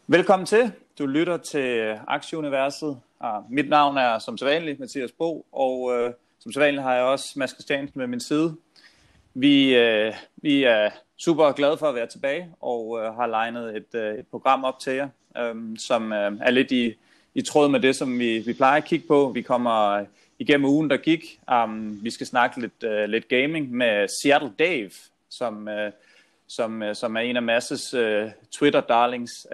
Velkommen til. Du lytter til Aktieuniverset. Mit navn er som sædvanligt Mathias Bo, og som sædvanligt har jeg også Mads Christiansen med min side. Vi er super glade for at være tilbage og har legnet et program op til jer, som er lidt i tråd med det, som vi plejer at kigge på. Vi kommer igennem ugen, der gik. Vi skal snakke lidt gaming med Seattle Dave, som er en af Masses Twitter-darlings.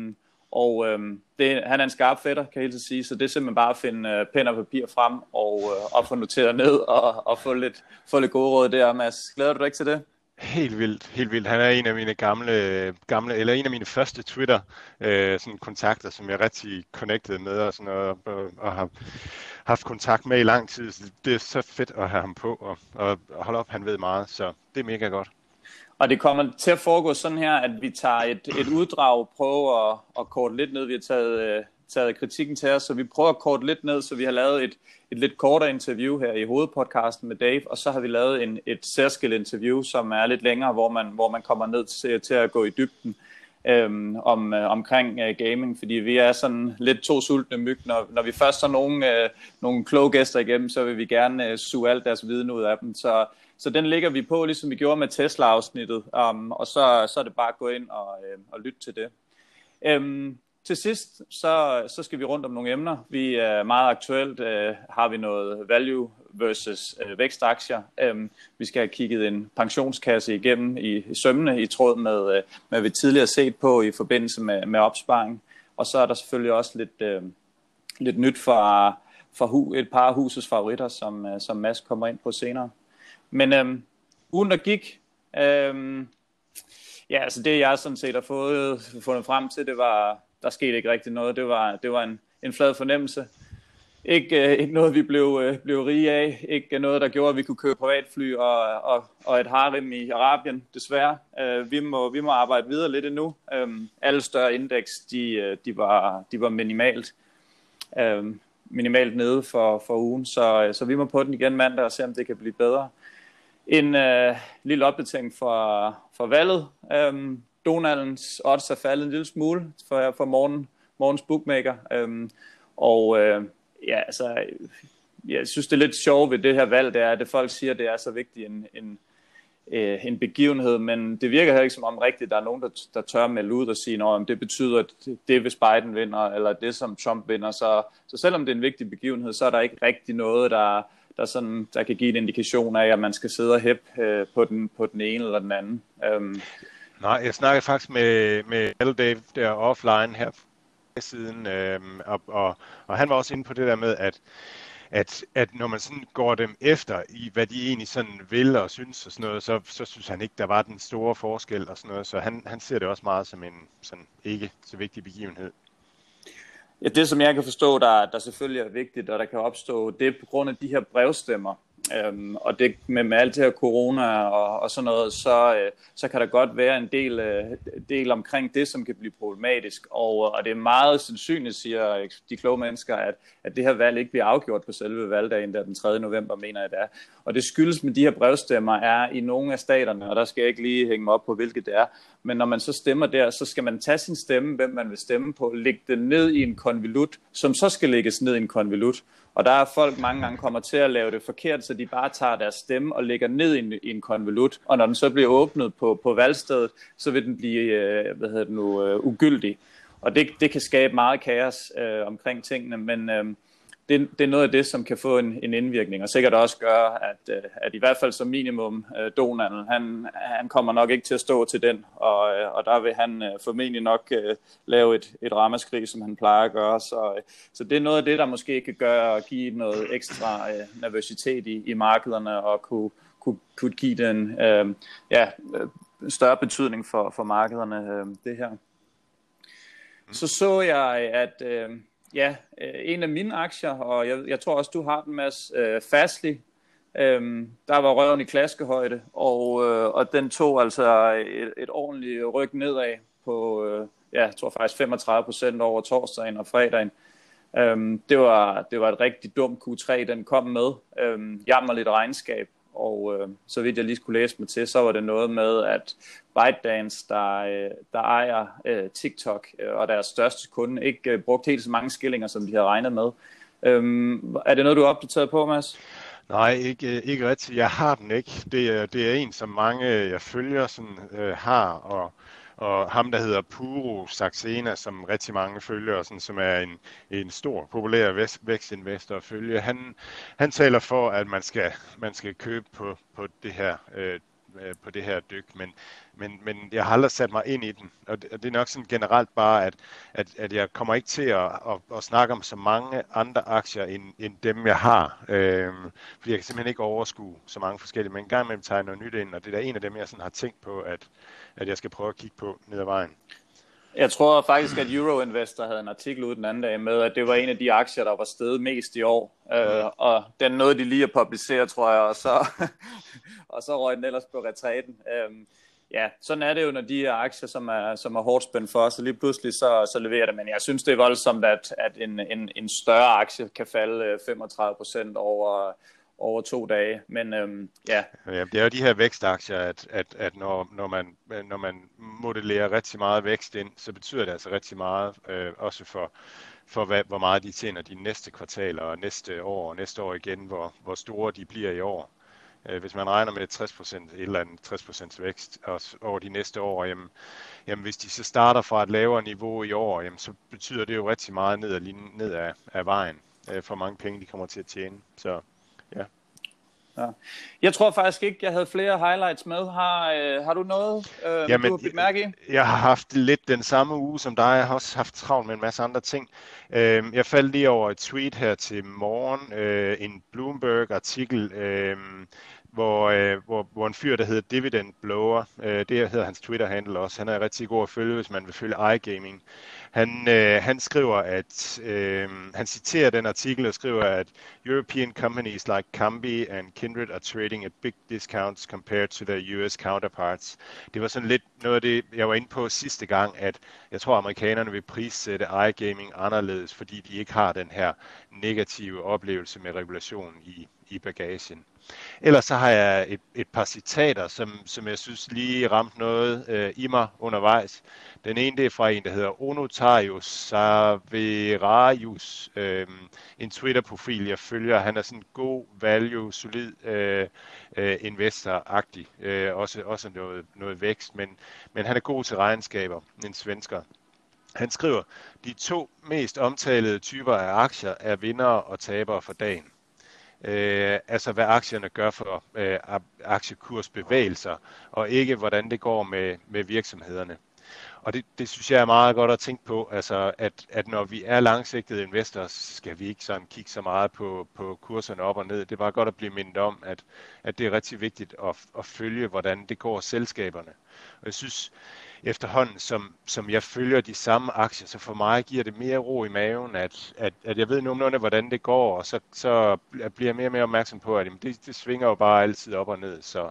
Han er en skarp fætter, kan jeg helt sige, så det er simpelthen bare at finde pen og papir frem og få noteret ned og få lidt gode råd der. Mads, glæder du dig ikke til det? Helt vildt. Han er en af mine gamle eller en af mine første Twitter sådan kontakter, som jeg rigtig connected med og sådan noget, og har haft kontakt med i lang tid. Så det er så fedt at have ham på, og hold op, han ved meget, så det er mega godt. Og det kommer til at foregå sådan her, at vi tager et uddrag, prøver at korte lidt ned. Vi har taget kritikken til os, så vi prøver at korte lidt ned, så vi har lavet et lidt kortere interview her i hovedpodcasten med Dave, og så har vi lavet et særskilt interview, som er lidt længere, hvor man kommer ned til at gå i dybden omkring gaming, fordi vi er sådan lidt to sultne myg. Når vi først har nogle kloge gæster igennem, så vil vi gerne suge alt deres viden ud af dem. Så den ligger vi på, ligesom vi gjorde med Tesla-afsnittet, og så er det bare at gå ind og lytte til det. Til sidst, så skal vi rundt om nogle emner. Vi er meget aktuelt, har vi noget value versus vækstaktier. Vi skal have kigget en pensionskasse igennem i sømmene, i tråd med, hvad vi tidligere set på i forbindelse med opsparing. Og så er der selvfølgelig også lidt nyt fra et par af husets favoritter, som Mads kommer ind på senere. Men ugen der gik, altså det jeg sådan set har fundet frem til, det var, der skete ikke rigtig noget. Det var en flad fornemmelse. Ikke noget vi blev rige af, ikke noget der gjorde at vi kunne købe privatfly og et harem i Arabien, desværre. Vi må arbejde videre lidt endnu. Alle større indeks, de var minimalt nede for ugen, så vi må på den igen mandag og se om det kan blive bedre. En lille opdatering for valget. Donaldens odds er faldet en lille smule for morgens bookmaker. Jeg synes det er lidt sjovt ved det her valg, det er, at folk siger, at det er så vigtig en begivenhed, men det virker heller ikke som om rigtigt, der er nogen, der tør melde ud og sige, om det betyder, at det hvis Biden vinder, eller det som Trump vinder. Så selvom det er en vigtig begivenhed, så er der ikke rigtig noget, der kan give en indikation af, at man skal sidde og hæppe på den ene eller den anden. Nej, jeg snakkede faktisk med Dave der offline her siden, og han var også inde på det der med, at når man sådan går dem efter i, hvad de egentlig sådan vil og synes og sådan noget, så synes han ikke, der var den store forskel og sådan noget, så han ser det også meget som en sådan ikke så vigtig begivenhed. Ja, det som jeg kan forstå, der selvfølgelig er vigtigt, og der kan opstå, det er på grund af de her brevstemmer. Og det med alt det her corona og sådan noget, så kan der godt være en del omkring det, som kan blive problematisk. Og det er meget sandsynligt, siger de kloge mennesker, at det her valg ikke bliver afgjort på selve valgdagen, der den 3. november, mener jeg det er. Og det skyldes med de her brevstemmer er i nogle af staterne, og der skal jeg ikke lige hænge mig op på, hvilket det er. Men når man så stemmer der, så skal man tage sin stemme, hvem man vil stemme på, lægge det ned i en konvolut, som så skal lægges ned i en konvolut. Og der er folk mange gange kommer til at lave det forkert, så de bare tager deres stemme og lægger ned i en konvolut. Og når den så bliver åbnet på valgstedet, så vil den blive ugyldig. Og det kan skabe meget kaos omkring tingene, men det er noget af det, som kan få en indvirkning, og sikkert også gøre, at i hvert fald som minimum Donald, han kommer nok ikke til at stå til den, og der vil han formentlig nok lave et ramaskrig, som han plejer at gøre. Så det er noget af det, der måske kan give noget ekstra nervøsitet i markederne, og kunne give den større betydning for markederne, det her. Så jeg, at en af mine aktier, og jeg tror også, du har den, Mads, Fastly, der var røven i klaskehøjde, og den tog altså et ordentligt ryg nedad på, jeg tror faktisk 35% over torsdagen og fredagen. Det var et rigtig dumt Q3, den kom med, jammerligt regnskab, og så vidt jeg lige skulle læse mig til, så var det noget med, at ByteDance, der ejer TikTok, og deres største kunde, ikke brugte helt så mange skillinger, som de havde regnet med. Er det noget, du er opdateret på, Mads? Nej, ikke rigtigt. Jeg har den ikke. Det er en, som mange jeg følger har, og ham, der hedder Puro Saxena, som rigtig mange følger, som er en stor, populær vækstinvestor at følge. Han taler for, at man skal købe på det her på det her dyk, men jeg har aldrig sat mig ind i den, og det er nok sådan generelt bare, at jeg kommer ikke til at snakke om så mange andre aktier end dem, jeg har, fordi jeg kan simpelthen ikke overskue så mange forskellige, men en gang imellem tager jeg noget nyt ind, og det er da en af dem, jeg sådan har tænkt på, at jeg skal prøve at kigge på ned ad vejen. Jeg tror faktisk, at Euroinvestor havde en artikel ud den anden dag med, at det var en af de aktier, der var steget mest i år. Og den nåede de lige at publicere, tror jeg, og så røg den ellers på retræten. Ja, sådan er det jo, når de her aktier, som er hårdt spændt for, så lige pludselig så leverer det. Men jeg synes, det er voldsomt, at en større aktie kan falde 35% over 2 dage, men ja. Det er jo de her vækstaktier, at når man modellerer rigtig meget vækst ind, så betyder det altså rigtig meget, også for hvor meget de tjener de næste kvartaler og næste år igen, hvor store de bliver i år. Hvis man regner med 60%, et eller andet 60% vækst over de næste år, jamen hvis de så starter fra et lavere niveau i år, jamen så betyder det jo rigtig meget ned af vejen, for mange penge de kommer til at tjene. Så ja. Ja. Jeg tror faktisk ikke, jeg havde flere highlights med. Har du noget, du har bidt mærke i? Jeg har haft lidt den samme uge som dig. Jeg har også haft travlt med en masse andre ting. Jeg faldt lige over et tweet her til morgen, en Bloomberg-artikel, hvor en fyr, der hedder Dividend Blower, det hedder hans Twitter-handle også, han er rigtig god at følge, hvis man vil følge iGaming. Han skriver, at han citerer den artikel og skriver, at European companies like Kambi and Kindred are trading at big discounts compared to their US counterparts. Det var sådan lidt noget af det, jeg var inde på sidste gang, at jeg tror, amerikanerne vil prissætte iGaming anderledes, fordi de ikke har den her negative oplevelse med regulation i bagagen. Ellers så har jeg et par citater, som jeg synes lige ramte noget i mig undervejs. Den ene, det er fra en, der hedder Onotarius Saverarius, en Twitter-profil, jeg følger. Han er sådan en god value, solid investor-agtig, også noget vækst, men han er god til regnskaber, en svensker. Han skriver, de 2 mest omtalede typer af aktier er vindere og tabere for dagen. Altså hvad aktierne gør for aktiekursbevægelser, og ikke hvordan det går med virksomhederne. Og det synes jeg er meget godt at tænke på, altså at når vi er langsigtede investorer, skal vi ikke sådan kigge så meget på kurserne op og ned. Det er bare godt at blive mindet om, at det er rigtig vigtigt at følge, hvordan det går selskaberne. Og jeg synes efterhånden, som jeg følger de samme aktier, så for mig giver det mere ro i maven, at jeg ved nogenlunde, hvordan det går, og så bliver jeg mere og mere opmærksom på, at det svinger jo bare altid op og ned.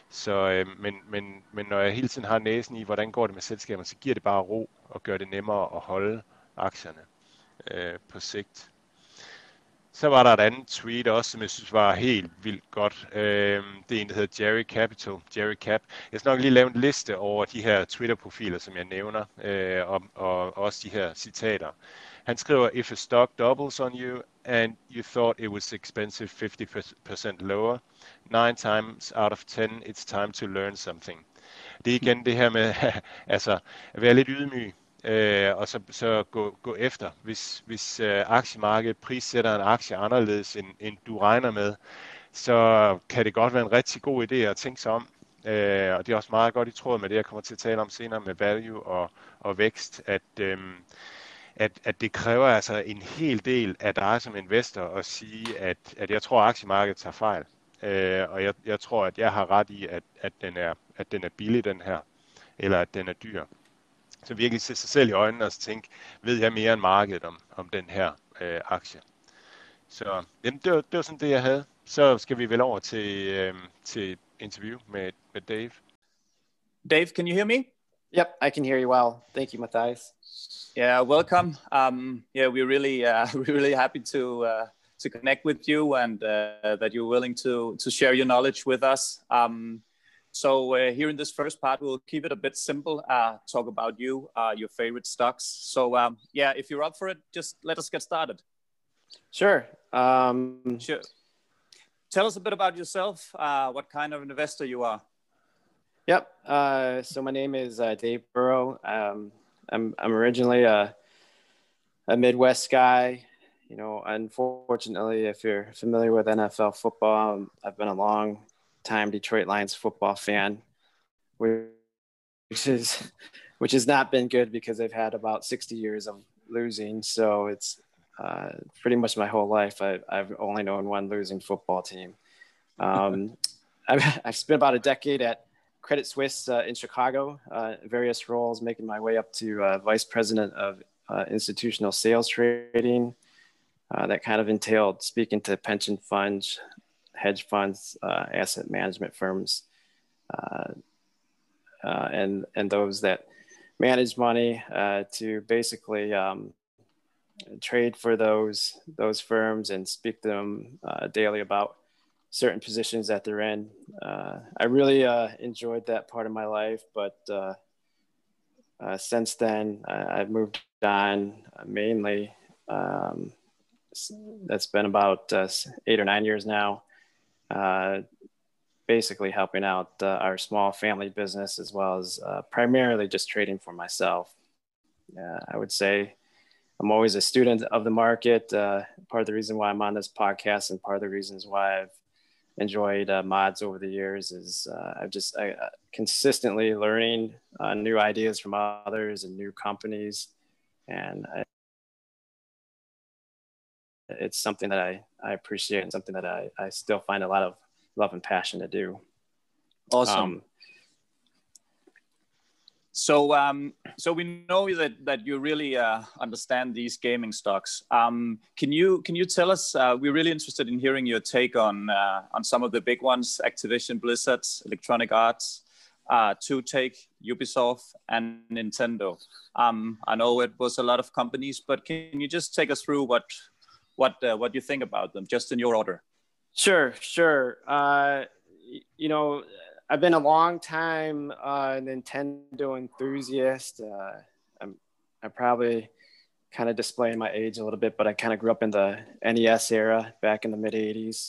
Men når jeg hele tiden har næsen i, hvordan går det med selskaberne, så giver det bare ro og gør det nemmere at holde aktierne på sigt. Så var der et andet tweet også, som jeg synes var helt vildt godt. Det er en, der hedder Jerry Cap. Jeg skal nok lige lave en liste over de her Twitter-profiler, som jeg nævner, og også de her citater. Han skriver, if a stock doubles on you, and you thought it was expensive 50% lower, 9 times out of 10, it's time to learn something. Det er igen det her med altså, at være lidt ydmyg. Og så gå efter. Hvis aktiemarkedet prissætter en aktie anderledes, end du regner med, så kan det godt være en rigtig god idé at tænke sig om. Og det er også meget godt i tråd med det, jeg kommer til at tale om senere med value og vækst, at det kræver altså en hel del af dig som investor at sige, at jeg tror, at aktiemarkedet tager fejl. Og jeg tror, at jeg har ret i, at den er billig, den her, eller at den er dyr. Så virkelig se sig selv i øjnene og tænke, ved jeg mere end markedet om den her aktie. Så jamen, det var sådan det, jeg havde. Så skal vi vel over til interview med Dave. Dave, can you hear me? Yep, I can hear you well. Thank you, Matthias. Yeah, welcome. Yeah, we're really happy to connect with you, and that you're willing to share your knowledge with us. So here in this first part, we'll keep it a bit simple, talk about you, your favorite stocks. So yeah, if you're up for it, just let us get started. Sure. Sure. Tell us a bit about yourself, what kind of investor you are. Yep. So my name is Dave Burrow. I'm originally a Midwest guy. You know, unfortunately, if you're familiar with NFL football, I've been a long time Detroit Lions football fan, which has not been good because they've had about 60 years of losing. So it's pretty much my whole life I've only known one losing football team. I've spent about a decade at Credit Suisse in Chicago, various roles, making my way up to vice president of institutional sales trading. That kind of entailed speaking to pension funds, hedge funds, asset management firms, and those that manage money to basically trade for those firms and speak to them daily about certain positions that they're in. I really enjoyed that part of my life, but since then I've moved on mainly. That's been about 8 or 9 years now, basically helping out our small family business, as well as primarily just trading for myself. I would say I'm always a student of the market. Part of the reason why I'm on this podcast and part of the reasons why I've enjoyed mods over the years is I consistently learning new ideas from others and new companies. And it's something that I appreciate and something that I still find a lot of love and passion to do. Awesome. So we know that you really understand these gaming stocks. Can you tell us? We're really interested in hearing your take on some of the big ones: Activision, Blizzard, Electronic Arts, 2Take, Ubisoft, and Nintendo. I know it was a lot of companies, but can you just take us through what you think about them, just in your order? Sure. You know, I've been a long time Nintendo enthusiast. I'm probably kind of displaying my age a little bit, but I kind of grew up in the NES era back in the mid '80s,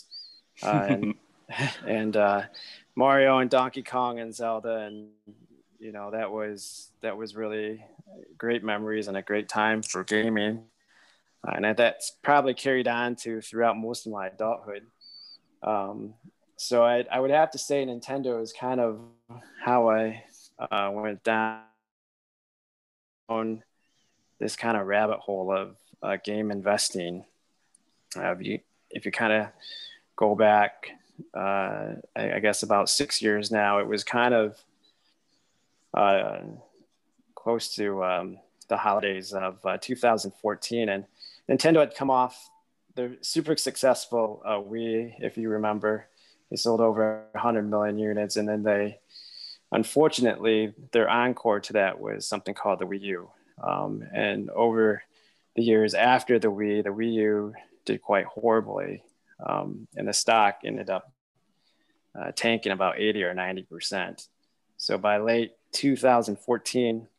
and Mario and Donkey Kong and Zelda, and you know that was really great memories and a great time for gaming, and that's probably carried on to throughout most of my adulthood. So I would have to say Nintendo is kind of how I went down this kind of rabbit hole of game investing. If you kind of go back, I guess about 6 years now, it was kind of close to the holidays of 2014, and Nintendo had come off the super successful Wii, if you remember. They sold over 100 million units, and then unfortunately, their encore to that was something called the Wii U. And over the years after the Wii U did quite horribly, and the stock ended up tanking about 80 or 90%. So by late 2014,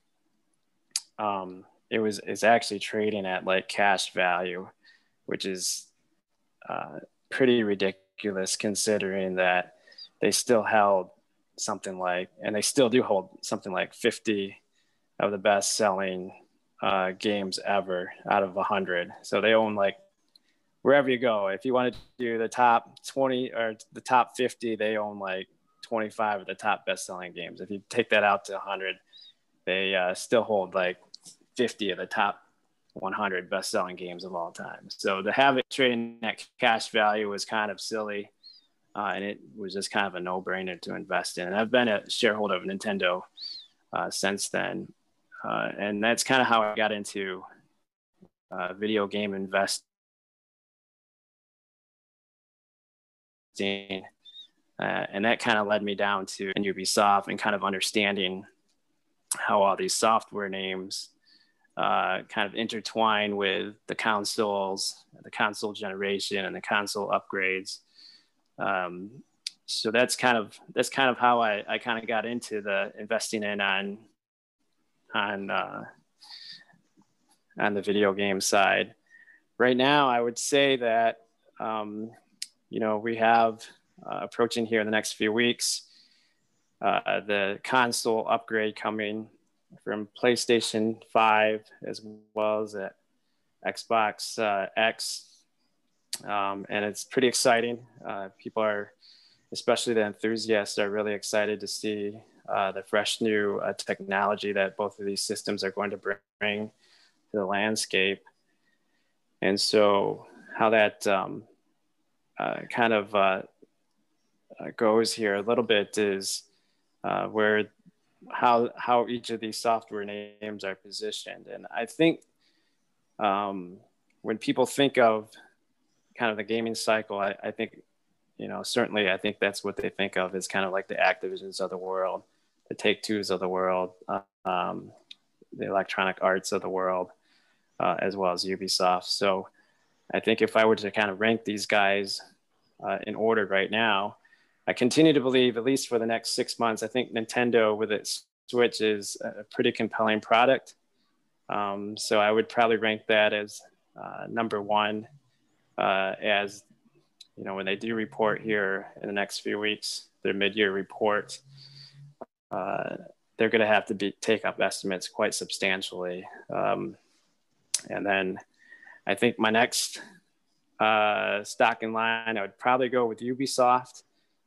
it's actually trading at like cash value, which is pretty ridiculous considering that they still held something like, and they still do hold something like 50 of the best selling games ever out of 100. So they own, like, wherever you go, if you want to do the top 20 or the top 50, they own like 25 of the top best selling games. If you take that out to 100, they still hold like 50 of the top 100 best-selling games of all time. So to have it trading at cash value was kind of silly, and it was just kind of a no-brainer to invest in. And I've been a shareholder of Nintendo since then, and that's kind of how I got into video game investing, and that kind of led me down to Ubisoft and kind of understanding how all these software names kind of intertwine with the consoles, the console generation, and the console upgrades. So that's kind of how I kind of got into the investing in on the video game side. Right now, I would say that we have approaching here in the next few weeks the console upgrade coming from PlayStation 5 as well as Xbox X, and it's pretty exciting. People are, especially the enthusiasts, are really excited to see the fresh new technology that both of these systems are going to bring to the landscape. And so how that kind of goes here a little bit is how each of these software names are positioned. And I think when people think of kind of the gaming cycle, I think, certainly I think that's what they think of as kind of like the Activisions of the world, the Take-Twos of the world, the Electronic Arts of the world, as well as Ubisoft. So I think if I were to kind of rank these guys in order right now, I continue to believe, at least for the next 6 months, I think Nintendo with its Switch is a pretty compelling product. So I would probably rank that as number one, as when they do report here in the next few weeks, their mid-year report, they're going to have to take up estimates quite substantially. And then I think my next stock in line, I would probably go with Ubisoft.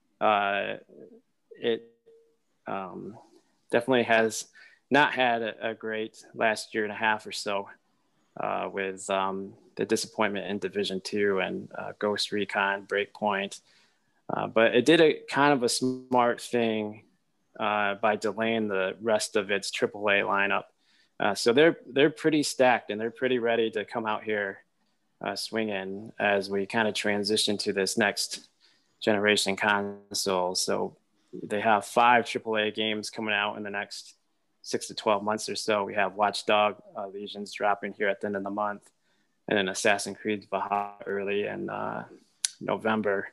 It definitely has not had a great last year and a half or so with the disappointment in Division 2 and Ghost Recon Breakpoint. But it did a kind of a smart thing by delaying the rest of its AAA lineup. So they're pretty stacked and they're pretty ready to come out here swinging as we kind of transition to this next generation console. So they have 5 AAA games coming out in the next 6 to 12 months or so. We have Watch Dogs Legions dropping here at the end of the month, and then Assassin's Creed Valhalla early in November.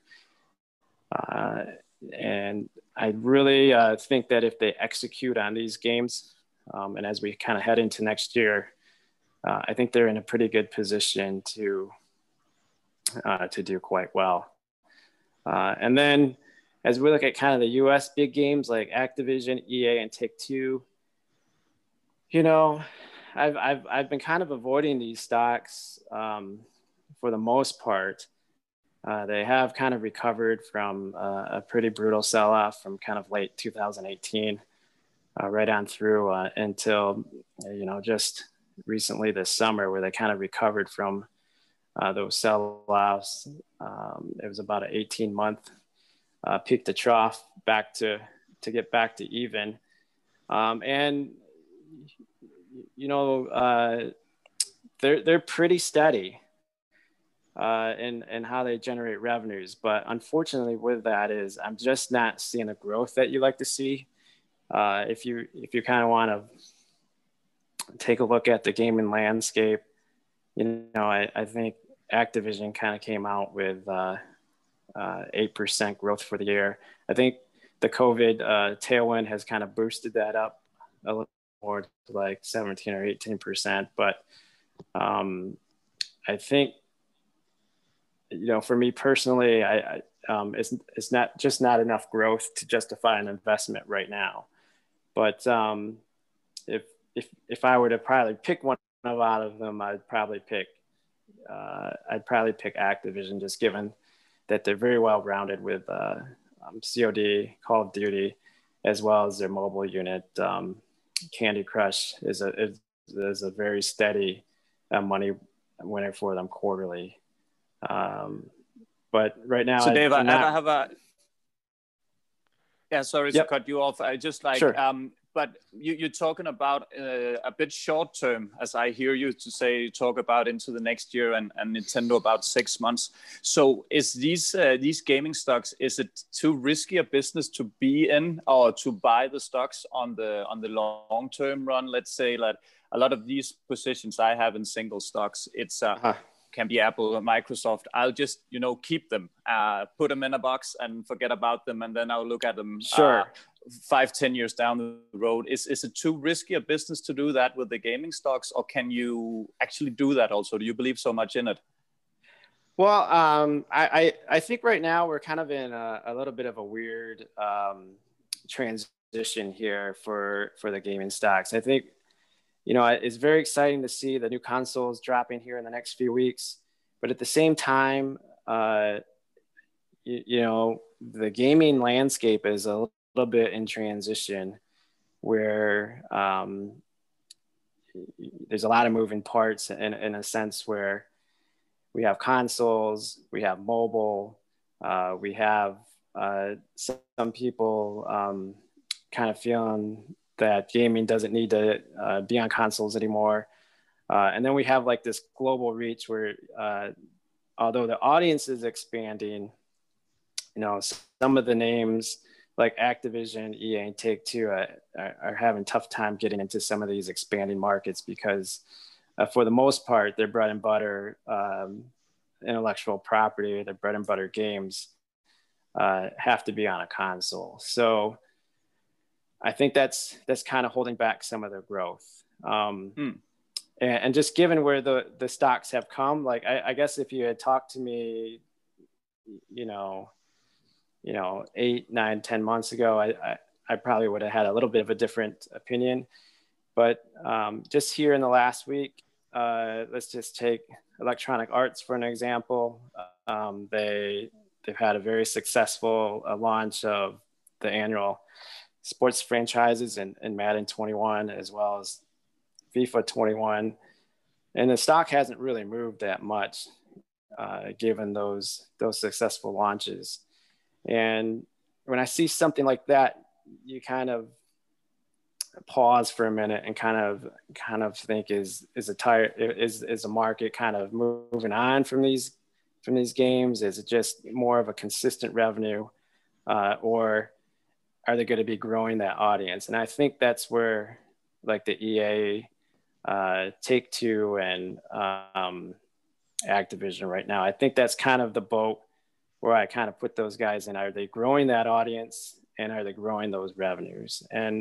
And I really think that if they execute on these games, and as we kind of head into next year, I think they're in a pretty good position to do quite well. And then as we look at kind of the US big games like Activision, EA, and Take-Two, I've been kind of avoiding these stocks for the most part. They have kind of recovered from a pretty brutal sell-off from kind of late 2018 right on through until, just recently this summer, where they kind of recovered from those sell-offs. It was about an 18-month peak to trough back to get back to even. And, they're pretty steady in how they generate revenues. But unfortunately with that is I'm just not seeing the growth that you like to see. If you kind of want to take a look at the gaming landscape, I think Activision kind of came out with 8% growth for the year. I think the COVID tailwind has kind of boosted that up a little more to like 17 or 18%. But I think, for me personally, it's not enough growth to justify an investment right now. But if I were to probably pick one out of them, I'd probably pick Activision, just given that they're very well rounded with COD, Call of Duty, as well as their mobile unit. Candy Crush is a very steady money winner for them quarterly. But right now, so Dave, I have a. Yeah, sorry to cut you off. I just like, sure. But you're talking about a bit short term, as I hear you talk about into the next year, and Nintendo about 6 months. So is these gaming stocks, is it too risky a business to be in, or to buy the stocks on the long term run? Let's say that a lot of these positions I have in single stocks, it's can be Apple or Microsoft. I'll just, keep them, put them in a box and forget about them. And then I'll look at them 5-10 years down the road. Is it too risky a business to do that with the gaming stocks, or can you actually do that also? Do you believe so much in it? Well, I think right now we're kind of in a little bit of a weird transition here for the gaming stocks. I think, it's very exciting to see the new consoles dropping here in the next few weeks. But at the same time, the gaming landscape is a little bit in transition where there's a lot of moving parts in a sense where we have consoles, we have mobile, we have some people kind of feeling that gaming doesn't need to be on consoles anymore. And then we have like this global reach where although the audience is expanding, some of the names like Activision, EA, and Take-Two are having tough time getting into some of these expanding markets because for the most part, their bread and butter intellectual property, their bread and butter games have to be on a console. So I think that's kind of holding back some of their growth. And just given where the stocks have come, like I guess if you had talked to me, 8, 9, 10 months ago, I probably would have had a little bit of a different opinion. But just here in the last week, let's just take Electronic Arts for an example. They've had a very successful launch of the annual sports franchises in Madden 21 as well as FIFA 21, and the stock hasn't really moved that much given those successful launches. And when I see something like that, you kind of pause for a minute and kind of think is a market kind of moving on from these games? Is it just more of a consistent revenue, or are they going to be growing that audience? And I think that's where like the EA, Take-Two, and Activision right now, I think that's kind of the boat where I kind of put those guys in. Are they growing that audience, and are they growing those revenues? And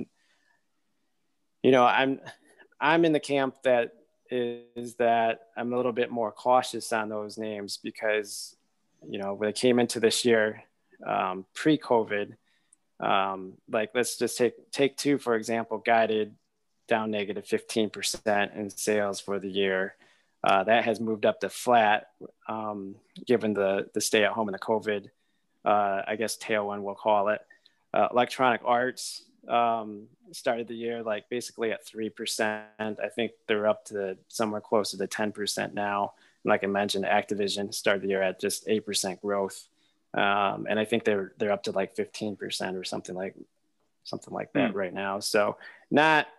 I'm in the camp that I'm a little bit more cautious on those names because when they came into this year pre-COVID, like let's just take Two for example, guided down negative 15% in sales for the year. That has moved up to flat given the stay at home and the COVID I guess tailwind we'll call it. Electronic Arts started the year like basically at 3%. I think they're up to somewhere closer to 10% now. And like I mentioned, Activision started the year at just 8% growth. And I think they're up to like 15% or something like that right now. So not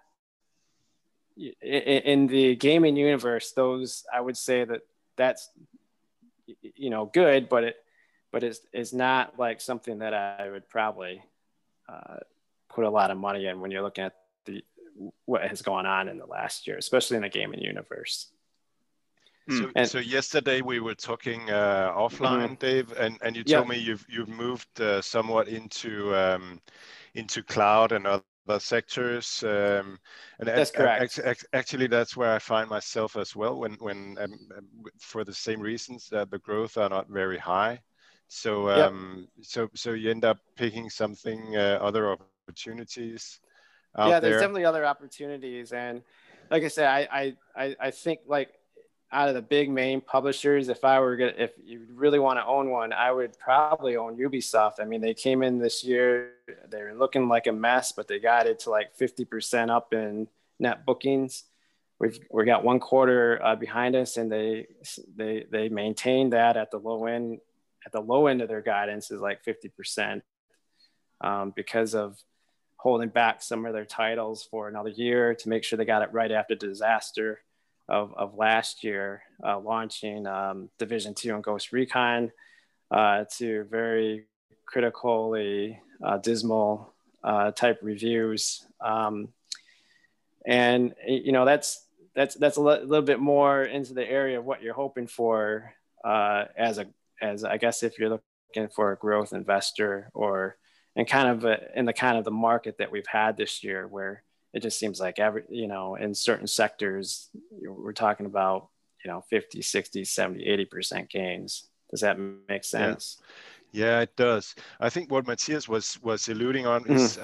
in the gaming universe, those, I would say that's good, but it's not like something that I would probably put a lot of money in when you're looking at what has gone on in the last year, especially in the gaming universe. So yesterday we were talking offline, Dave, and you told me you've moved somewhat into cloud and other sectors, and that's correct. Actually, that's where I find myself as well. When for the same reasons that the growth are not very high, so so you end up picking something other opportunities out there. There's definitely other opportunities, and like I said, I think like out of the big main publishers, if you really want to own one, I would probably own Ubisoft. I mean, they came in this year, they're looking like a mess, but they got it to like 50% up in net bookings. We got one quarter behind us, and they maintained that at the low end. At the low end of their guidance is like 50% because of holding back some of their titles for another year to make sure they got it right after disaster of last year, launching Division 2 and Ghost Recon to very critically dismal type reviews. And that's a little bit more into the area of what you're hoping for as I guess if you're looking for a growth investor, or in the market that we've had this year, where it just seems like in certain sectors we're talking about 50, 60, 70, 80% gains. Does that make sense? Yeah, it does. I think what Matthias was alluding on is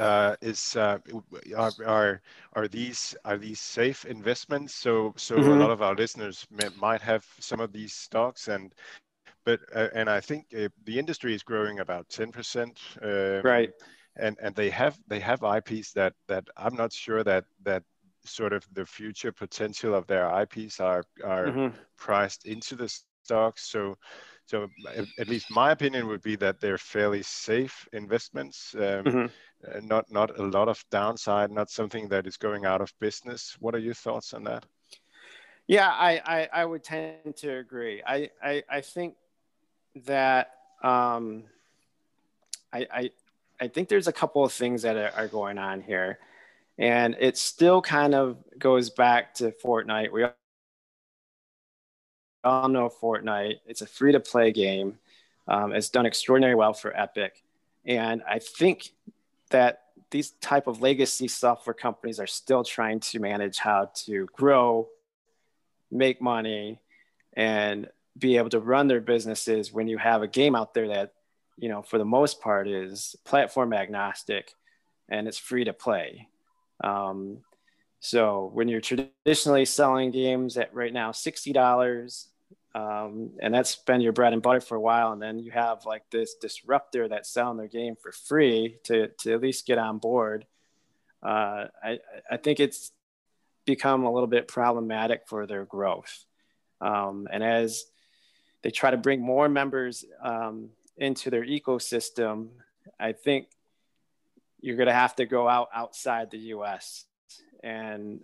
are these safe investments? So a lot of our listeners might have some of these stocks, and I think the industry is growing about 10%. Right. And they have IPs that I'm not sure that sort of the future potential of their IPs are priced into the stocks. So at least my opinion would be that they're fairly safe investments, not a lot of downside, not something that is going out of business. What are your thoughts on that? Yeah, I would tend to agree. I think that I think there's a couple of things that are going on here, and it still kind of goes back to Fortnite. We all know Fortnite. It's a free-to-play game. It's done extraordinarily well for Epic. And I think that these type of legacy software companies are still trying to manage how to grow, make money, and be able to run their businesses when you have a game out there that, for the most part is platform agnostic and it's free to play. So when you're traditionally selling games at right now $60, and that's been your bread and butter for a while, and then you have like this disruptor that's selling their game for free to at least get on board, I think it's become a little bit problematic for their growth. And as they try to bring more members into their ecosystem, I think you're going to have to go outside the U.S. And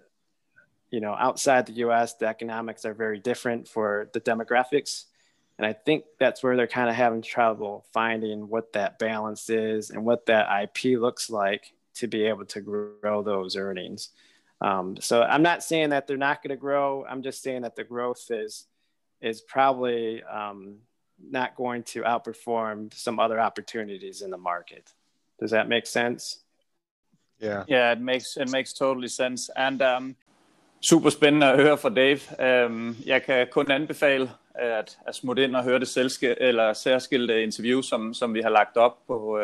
outside the U.S., the economics are very different for the demographics. And I think that's where they're kind of having trouble finding what that balance is and what that IP looks like to be able to grow those earnings. So I'm not saying that they're not going to grow. I'm just saying that the growth is probably not going to outperform some other opportunities in the market. Does that make sense? Yeah, it makes totally sense. And super spændende at høre fra Dave. Jeg kan kun anbefale at smutte ind og høre det særskilte interview, som vi har lagt op på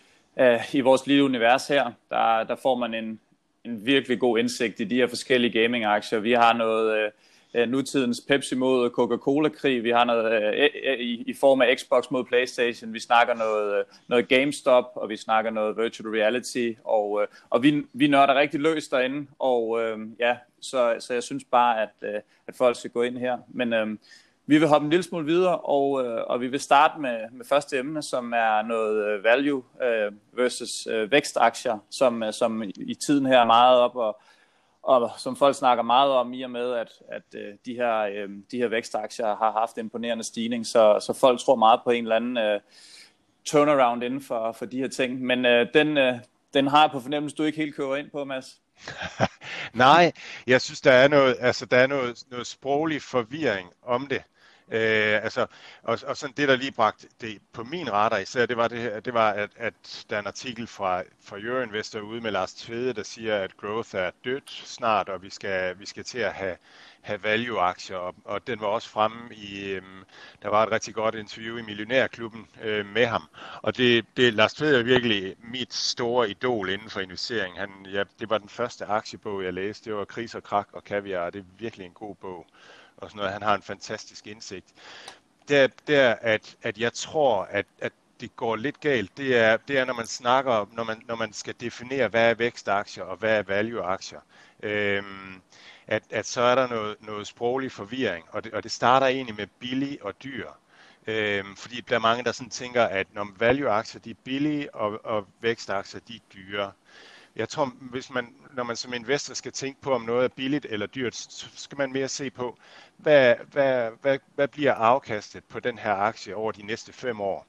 i vores lille univers her. Der får man en virkelig god indsigt i de her forskellige gaming-aktier. Vi har noget nutidens Pepsi mod Coca-Cola-krig. Vi har noget i form af Xbox mod PlayStation. Vi snakker noget GameStop, og vi snakker noget virtual reality, og vi nørder rigtig løs derinde, og så jeg synes bare, at folk skal gå ind her. Men vi vil hoppe en lille smule videre, og vi vil starte med første emne, som er noget value versus vækstaktier, som i tiden her er meget op, og som folk snakker meget om, i og med, at de her vækstaktier har haft imponerende stigning, så folk tror meget på en eller anden turnaround inden for de her ting. Men den har jeg på fornemmelse, du ikke helt kører ind på, Mads. Nej, jeg synes, der er noget sproglig forvirring om det. Og sådan det, der lige bragte det på min radar især, det var, at der er en artikel fra Euroinvestor ude med Lars Tvede, der siger, at growth er dødt snart, og vi skal til at have value-aktier, og den var også fremme i, der var et rigtig godt interview i Millionærklubben med ham, og det Lars Tvede er virkelig mit store idol inden for investering. Det var den første aktiebog, jeg læste, det var Kris og Krak og Kaviar, og det er virkelig en god bog. Og sådan noget. Han har en fantastisk indsigt. Det er, at jeg tror, at det går lidt galt. Det er, når man snakker, når man skal definere, hvad er vækstaktier og hvad er value-aktier. At så er der noget sproglig forvirring, og det starter egentlig med billig og dyr. Fordi der er mange, der sådan tænker, at når value-aktier de er billige, og vækstaktier de er dyre. Jeg tror, når man som investor skal tænke på, om noget er billigt eller dyrt, så skal man mere se på, hvad bliver afkastet på den her aktie over de næste 5 år.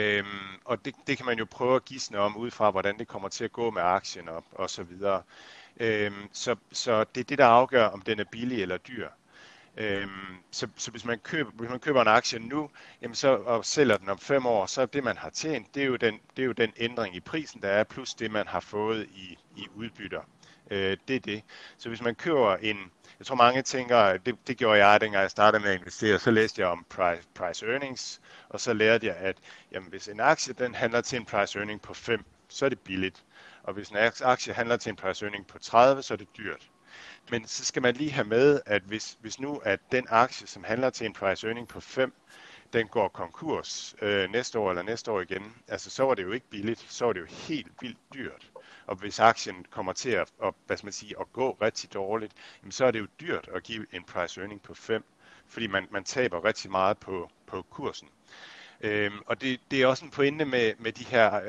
Og det kan man jo prøve at gisne om, ud fra hvordan det kommer til at gå med aktien og så videre. Så det er det, der afgør, om den er billig eller dyr. Så hvis man køber en aktie nu, jamen så, og sælger den om 5 år, så er det, man har tjent, det er jo den ændring i prisen, der er, plus det, man har fået i udbytter. Det er det. Så hvis man køber jeg tror mange tænker, det gjorde jeg, dengang jeg startede med at investere, så læste jeg om price earnings, og så lærte jeg, at jamen, hvis en aktie den handler til en price earning på 5, så er det billigt. Og hvis en aktie handler til en price earning på 30, så er det dyrt. Men så skal man lige have med, at hvis nu at den aktie, som handler til en price earning på 5, den går konkurs næste år eller næste år igen, altså så var det jo ikke billigt, så var det jo helt vildt dyrt. Og hvis aktien kommer til at gå rigtig dårligt, jamen så er det jo dyrt at give en price earning på 5, fordi man taber rigtig meget på kursen. Og det er også en pointe med de her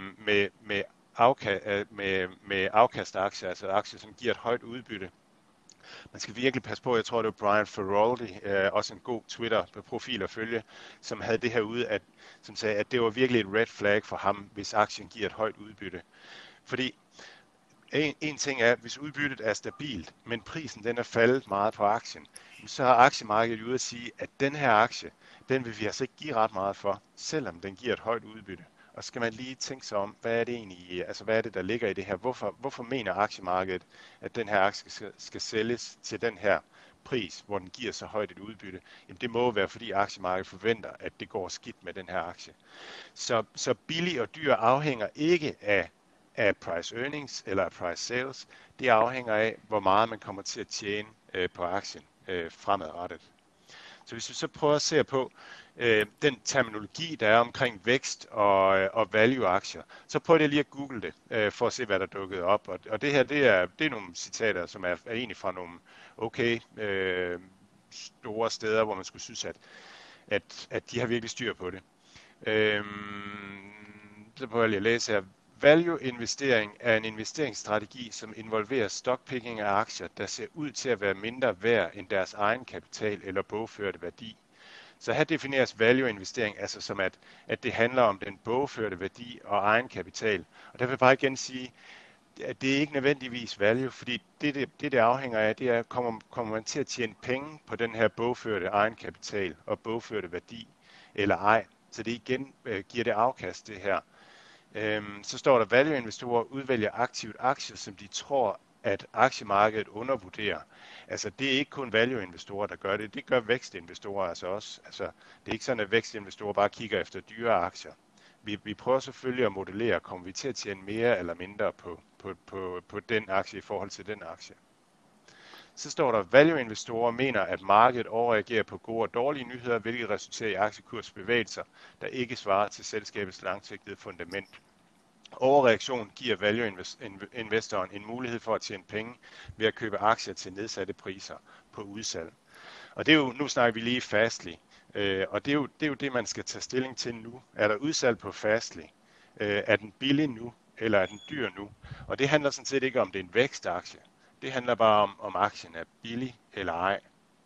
med afkastaktier, altså aktier, som giver et højt udbytte. Man skal virkelig passe på, jeg tror det var Brian Feroldi, også en god Twitter-profil at følge, som havde det her ude, som sagde, at det var virkelig et red flag for ham, hvis aktien giver et højt udbytte. Fordi en ting er, hvis udbyttet er stabilt, men prisen den er faldet meget på aktien, så har aktiemarkedet ude at sige, at den her aktie, den vil vi altså ikke give ret meget for, selvom den giver et højt udbytte. Og så skal man lige tænke sig om, hvad er det egentlig, altså hvad er det, der ligger i det her? Hvorfor mener aktiemarkedet, at den her aktie skal sælges til den her pris, hvor den giver så højt et udbytte? Jamen det må være, fordi aktiemarkedet forventer, at det går skidt med den her aktie. Så billig og dyr afhænger ikke af price earnings eller af price sales. Det afhænger af, hvor meget man kommer til at tjene på aktien fremadrettet. Så hvis vi så prøver at se på den terminologi, der er omkring vækst og value-aktier, så prøv lige at google det, for at se, hvad der dukkede op. Og det her, det er nogle citater, som er egentlig fra nogle store steder, hvor man skulle synes, at de har virkelig styr på det. Så prøver jeg lige at læse her. Value-investering er en investeringsstrategi, som involverer stockpicking af aktier, der ser ud til at være mindre værd end deres egen kapital eller bogførte værdi. Så her defineres value-investering altså som, at det handler om den bogførte værdi og egen kapital. Og der vil jeg bare igen sige, at det er ikke nødvendigvis value, fordi det afhænger af, det er, kommer man til at tjene penge på den her bogførte egen kapital og bogførte værdi eller ej. Så det igen giver det afkast, det her. Så står der, value-investorer udvælger aktivt aktier, som de tror, at aktiemarkedet undervurderer. Altså, det er ikke kun value-investorer, der gør det. Det gør vækstinvestorer altså også. Altså, det er ikke sådan, at vækstinvestorer bare kigger efter dyre aktier. Vi prøver selvfølgelig at modellere, kommer vi til at tjene mere eller mindre på den aktie i forhold til den aktie. Så står der, value-investorer mener, at markedet overreagerer på gode og dårlige nyheder, hvilket resulterer i aktiekursbevægelser, der ikke svarer til selskabets langsigtede fundament. Overreaktion giver value-investoren en mulighed for at tjene penge ved at købe aktier til nedsatte priser på udsalg. Og det er jo, nu snakker vi lige Fastly, og det er jo det, man skal tage stilling til nu. Er der udsalg på Fastly? Er den billig nu, eller er den dyr nu? Og det handler sådan set ikke om, det er en vækstaktie. Det handler bare om aktien er billig eller ej.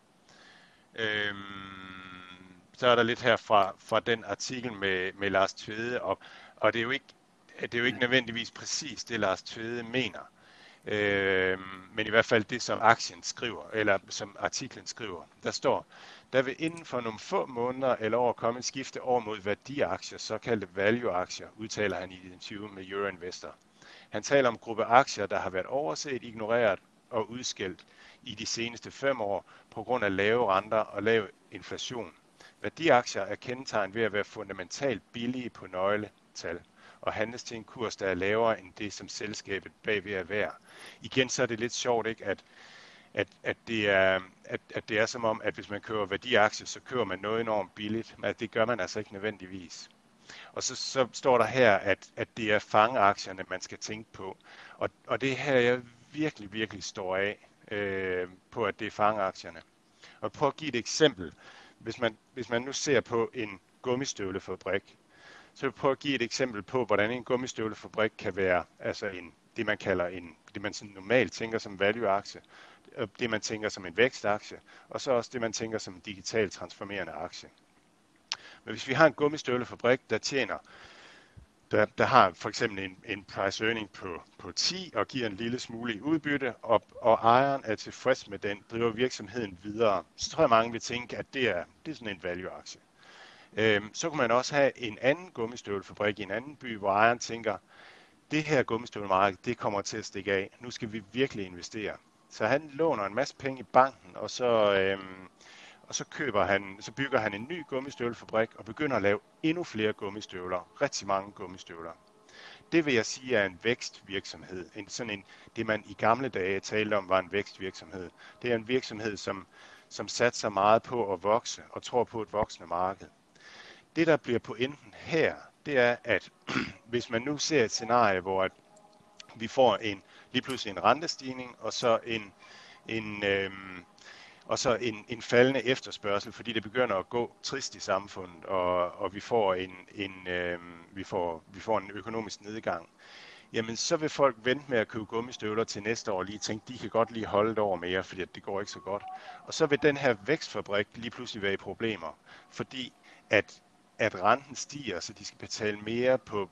Så er der lidt her fra den artikel med Lars Tvede, og det er jo ikke nødvendigvis præcis det, Lars Tvede mener. Men i hvert fald det, som aktien skriver, eller som artiklen skriver. Der står, der vil inden for nogle få måneder eller år komme et skifte over mod værdiaktier, såkaldte value-aktier, udtaler han i et interview med Euroinvestor. Han taler om gruppe aktier, der har været overset, ignoreret og udskilt i de seneste 5 år på grund af lave renter og lav inflation. Værdiaktier er kendetegnet ved at være fundamentalt billige på nøgletal og handles til en kurs, der er lavere end det, som selskabet bagved er værd. Igen så er det lidt sjovt, ikke, at det er som om, at hvis man køber værdiaktier, så køber man noget enormt billigt, men det gør man altså ikke nødvendigvis. Og så står der her, at det er fangeaktierne, man skal tænke på. Og det her, jeg virkelig står af på, at det er fangeaktierne. Og prøv at give et eksempel. Hvis man nu ser på en gummistøvlefabrik, så vil jeg prøve at give et eksempel på, hvordan en gummistøvlefabrik kan være altså det man sådan normalt tænker som value-aktie, det man tænker som en vækstaktie, og så også det man tænker som en digital transformerende aktie. Men hvis vi har en gummistøvlefabrik, der der har for eksempel en price earning på 10 og giver en lille smule i udbytte, og ejeren er tilfreds med den, driver virksomheden videre, så tror jeg mange vil tænke, at det er sådan en value-aktie. Så kunne man også have en anden gummistøvlefabrik i en anden by, hvor ejeren tænker, det her gummistøvlemarked, det kommer til at stikke af. Nu skal vi virkelig investere. Så han låner en masse penge i banken, og så bygger han en ny gummistøvlefabrik og begynder at lave endnu flere gummistøvler. Rigtig mange gummistøvler. Det vil jeg sige er en vækstvirksomhed. Det man i gamle dage talte om var en vækstvirksomhed. Det er en virksomhed, som satser meget på at vokse og tror på et voksende marked. Det, der bliver pointen her, det er, at hvis man nu ser et scenarie, hvor at vi får lige pludselig en rentestigning, og så en faldende efterspørgsel, fordi det begynder at gå trist i samfundet, og vi får en økonomisk nedgang, jamen så vil folk vente med at købe gummistøvler til næste år, lige tænke, de kan godt lige holde et år mere, fordi det går ikke så godt. Og så vil den her vækstfabrik lige pludselig være i problemer, fordi at renten stiger, så de skal betale mere på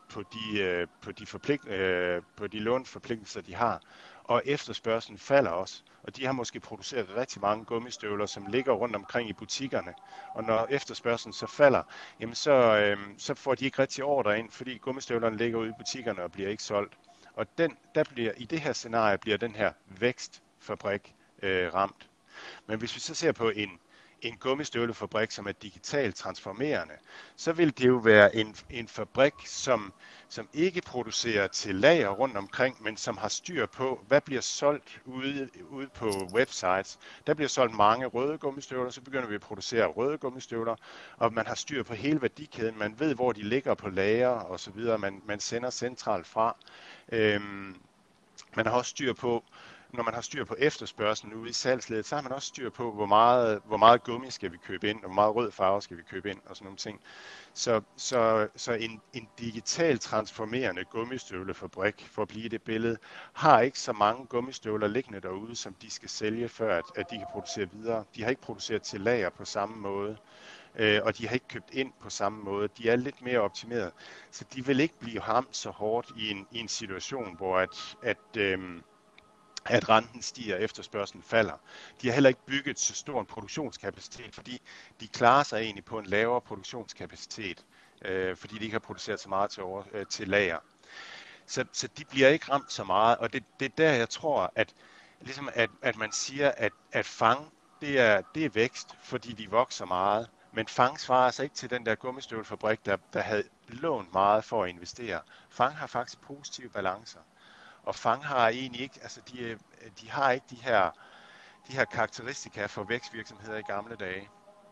de lånforpligtelser, de har. Og efterspørgselen falder også. Og de har måske produceret rigtig mange gummistøvler, som ligger rundt omkring i butikkerne. Og når efterspørgselen så falder, jamen så får de ikke rigtig ordre ind, fordi gummistøvlerne ligger ude i butikkerne og bliver ikke solgt. Og i det her scenarie bliver den her vækstfabrik ramt. Men hvis vi så ser på en gummistøvlefabrik, som er digitalt transformerende, så vil det jo være en fabrik, som ikke producerer til lager rundt omkring, men som har styr på, hvad bliver solgt ude på websites. Der bliver solgt mange røde gummistøvler, så begynder vi at producere røde gummistøvler, og man har styr på hele værdikæden. Man ved, hvor de ligger på lager og så videre. Man sender centralt fra. Man har også styr på, når man har styr på efterspørgselen ude i salgsledet, så har man også styr på, hvor meget gummi skal vi købe ind, og hvor meget rød farve skal vi købe ind, og sådan nogle ting. Så en digital transformerende gummistøvlefabrik, for at blive det billede, har ikke så mange gummistøvler liggende derude, som de skal sælge, før at de kan producere videre. De har ikke produceret til lager på samme måde, og de har ikke købt ind på samme måde. De er lidt mere optimeret, så de vil ikke blive ramt så hårdt i en situation, hvor at renten stiger og efterspørgselen falder. De har heller ikke bygget så stor en produktionskapacitet, fordi de klarer sig egentlig på en lavere produktionskapacitet, fordi de ikke har produceret så meget til lager. Så de bliver ikke ramt så meget, og det er der, jeg tror, at man siger, at FANG, det er vækst, fordi de vokser meget, men FANG svarer altså ikke til den der gummistøvlefabrik, der havde lånt meget for at investere. FANG har faktisk positive balancer. Og FANG har egentlig ikke, altså de har ikke de her karakteristika for vækstvirksomheder i gamle dage.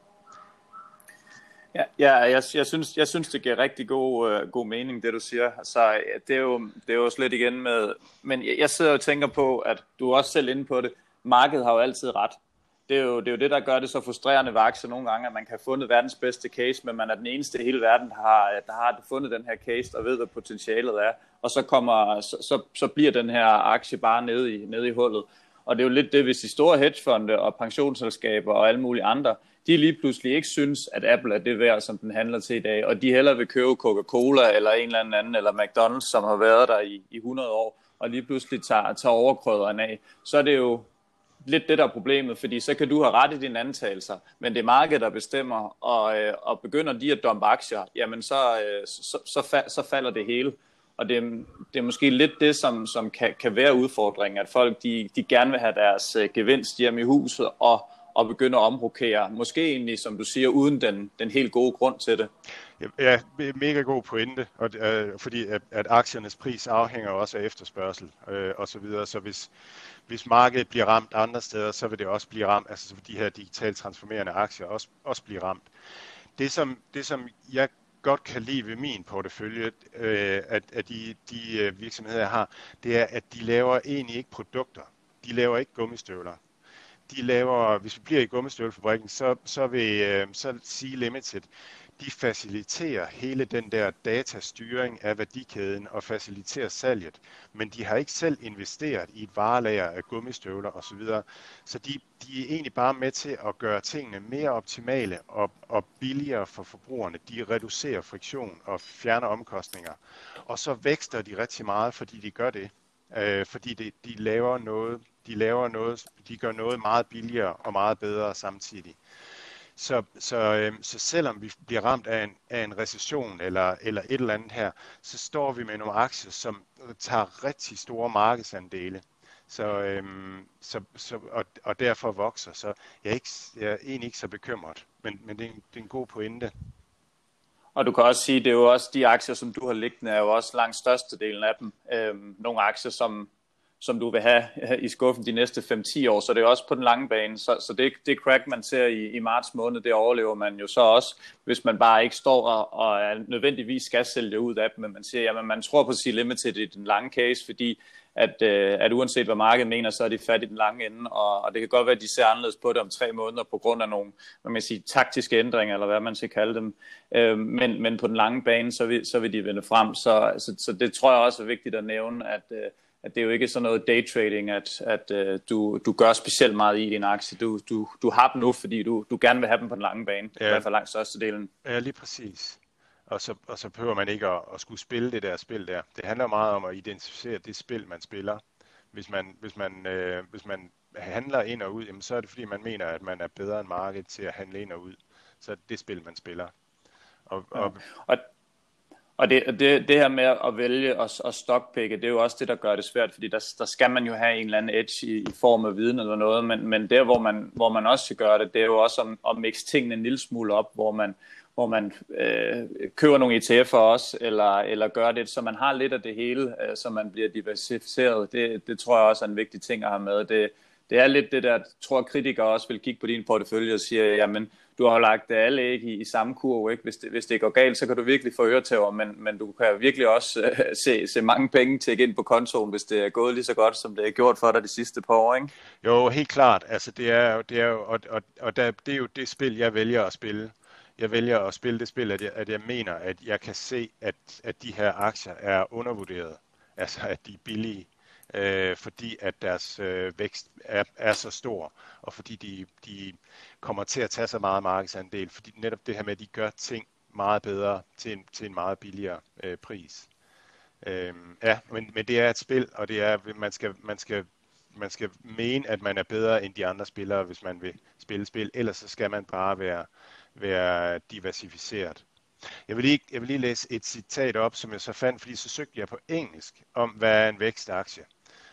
Ja, jeg synes det giver rigtig god mening, det du siger. Så det er jo slet igen med, men jeg sidder og tænker på, at du er også selv inde på det. Markedet har jo altid ret. Det er jo det, der gør det så frustrerende ved aktier nogle gange, at man kan have fundet verdens bedste case, men man er den eneste i hele verden, der har fundet den her case og ved, hvad potentialet er. Og så bliver den her aktie bare nede i hullet. Og det er jo lidt det, hvis de store hedgefonde og pensionsselskaber og alle mulige andre, de lige pludselig ikke synes, at Apple er det værd, som den handler til i dag, og de hellere vil købe Coca-Cola eller en eller anden, eller McDonald's, som har været der i 100 år, og lige pludselig tager overkrøderen af, så er det jo lidt det, der er problemet, fordi så kan du have ret i dine antagelser, men det er markedet, der bestemmer, og begynder de at dumpe aktier, jamen så falder det hele. Og det er måske lidt det, som kan være udfordringen, at folk de gerne vil have deres gevinst hjem i huset og begynde at omrokere. Måske egentlig, som du siger, uden den helt gode grund til det. Ja, mega god pointe, fordi at aktiernes pris afhænger også af efterspørgsel og så videre. Så hvis markedet bliver ramt andre steder, så vil det også blive ramt, altså så vil de her digitalt transformerende aktier også blive ramt. Det som jeg godt kan lide ved min portefølje, at de virksomheder, jeg har, det er, at de laver egentlig ikke produkter. De laver ikke gummistøvler. De laver, hvis vi bliver i gummistøvlefabrikken, så Sea Limited, de faciliterer hele den der datastyring af værdikæden og faciliterer salget, men de har ikke selv investeret i et varelager af gummistøvler osv. Så de er egentlig bare med til at gøre tingene mere optimale og billigere for forbrugerne. De reducerer friktion og fjerner omkostninger. Og så vækster de rigtig meget, fordi de gør det. Fordi de gør noget meget billigere og meget bedre samtidig. Så selvom vi bliver ramt af en recession eller et eller andet her, så står vi med nogle aktier, som tager rigtig store markedsandele. Og derfor vokser. Så jeg er egentlig ikke så bekymret, men det er en god pointe. Og du kan også sige, det er jo også de aktier, som du har liggende, er jo også langt størstedelen af dem. Nogle aktier, som du vil have i skuffen de næste 5-10 år, så det er også på den lange bane. Så det crack, man ser i marts måned, det overlever man jo så også, hvis man bare ikke står og nødvendigvis skal sælge ud af dem, men man siger, jamen man tror på C-Limited i den lange case, fordi at uanset hvad markedet mener, så er de fat i den lange ende, og det kan godt være, at de ser anderledes på det om 3 måneder, på grund af nogle, hvad man siger, taktiske ændringer, eller hvad man skal kalde dem, men på den lange bane, så vil de vende frem, så det tror jeg også er vigtigt at nævne, at det er jo ikke sådan noget daytrading, at du gør specielt meget i din aktie. Du har dem nu, fordi du gerne vil have dem på den lange bane, ja. I hvert fald langt størstedelen. Ja, lige præcis. Og så behøver man ikke at skulle spille det der spil der. Det handler meget om at identificere det spil, man spiller. Hvis man handler ind og ud, jamen, så er det fordi, man mener, at man er bedre end markedet til at handle ind og ud. Så er det spil, man spiller. Og det her med at vælge og stockpicke, det er jo også det, der gør det svært, fordi der skal man jo have en eller anden edge i form af viden eller noget, men der, hvor man også skal gøre det, det er jo også at mixe tingene en lille smule op, hvor man køber nogle ETF'er også, eller gør det, så man har lidt af det hele, så man bliver diversificeret. Det tror jeg også er en vigtig ting at have med. Det er lidt det der, tror kritikere også vil kigge på din portefølje og sige, jamen, du har lagt alle æg i samme kurve, ikke? Hvis det går galt, så kan du virkelig få øretæver, men du kan virkelig også se mange penge tække ind på kontoen, hvis det er gået lige så godt, som det er gjort for dig de sidste par år, ikke? Jo, helt klart. Altså, det er jo det spil, jeg vælger at spille. Jeg vælger at spille det spil, at jeg mener, at jeg kan se, at de her aktier er undervurderet. Altså, at de er billige. Fordi at deres vækst er så stor, og fordi de kommer til at tage så meget markedsandel, fordi netop det her med, at de gør ting meget bedre til en meget billigere pris. Men det er et spil, og det er, man skal mene, at man er bedre end de andre spillere, hvis man vil spille spil, ellers så skal man bare være diversificeret. Jeg vil lige læse et citat op, som jeg så fandt, fordi så søgte jeg på engelsk om, hvad er en vækstaktie.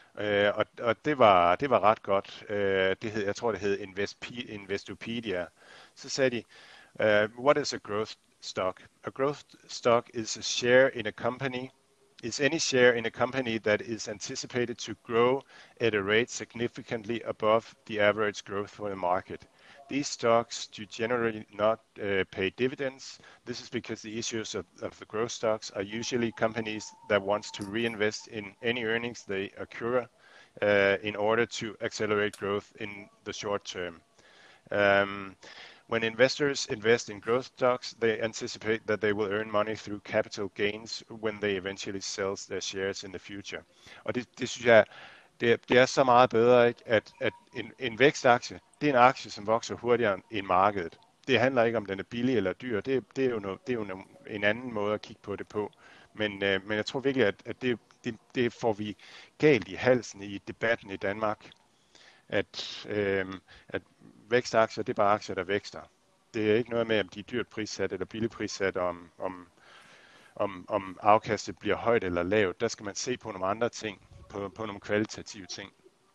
Og det var ret godt. Jeg tror, det hed Investopedia. Så sagde de, what is a growth stock? A growth stock is a share in a company. Is any share in a company that is anticipated to grow at a rate significantly above the average growth for the market. These stocks do generally not pay dividends. This is because the issues of the growth stocks are usually companies that wants to reinvest in any earnings they accrue in order to accelerate growth in the short term. When investors invest in growth stocks, they anticipate that they will earn money through capital gains when they eventually sell their shares in the future. Og det synes jeg, det er så meget bedre, ikke? At en vækstaktie, det er en aktie, som vokser hurtigere end markedet. Det handler ikke om, den er billig eller dyr. Det er jo en anden måde at kigge på det på. Men jeg tror virkelig, at det får vi galt i halsen i debatten i Danmark. At vækstaktier, det er bare aktier, der vækster. Det er ikke noget med, om de er dyrt prissat eller billigt prissat, om afkastet bliver højt eller lavt. Der skal man se på nogle andre ting, på nogle kvalitative ting.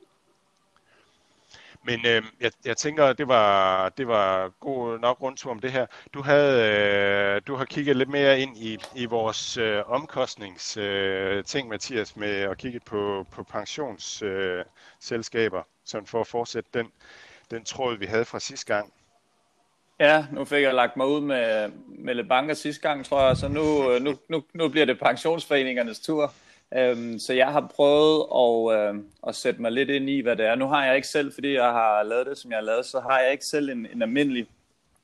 Men jeg tænker, det var god nok rundtur om det her. Du har kigget lidt mere ind i vores omkostningsting, Mathias, med at kigge på pensionsselskaber, sådan for at fortsætte den tråd, vi havde fra sidste gang. Ja, nu fik jeg lagt mig ud med lidt banker sidste gang, tror jeg, så nu bliver det pensionsforeningernes tur. Så jeg har prøvet at sætte mig lidt ind i, hvad det er. Nu har jeg ikke selv, fordi jeg har lavet det, som jeg har lavet, så har jeg ikke selv en almindelig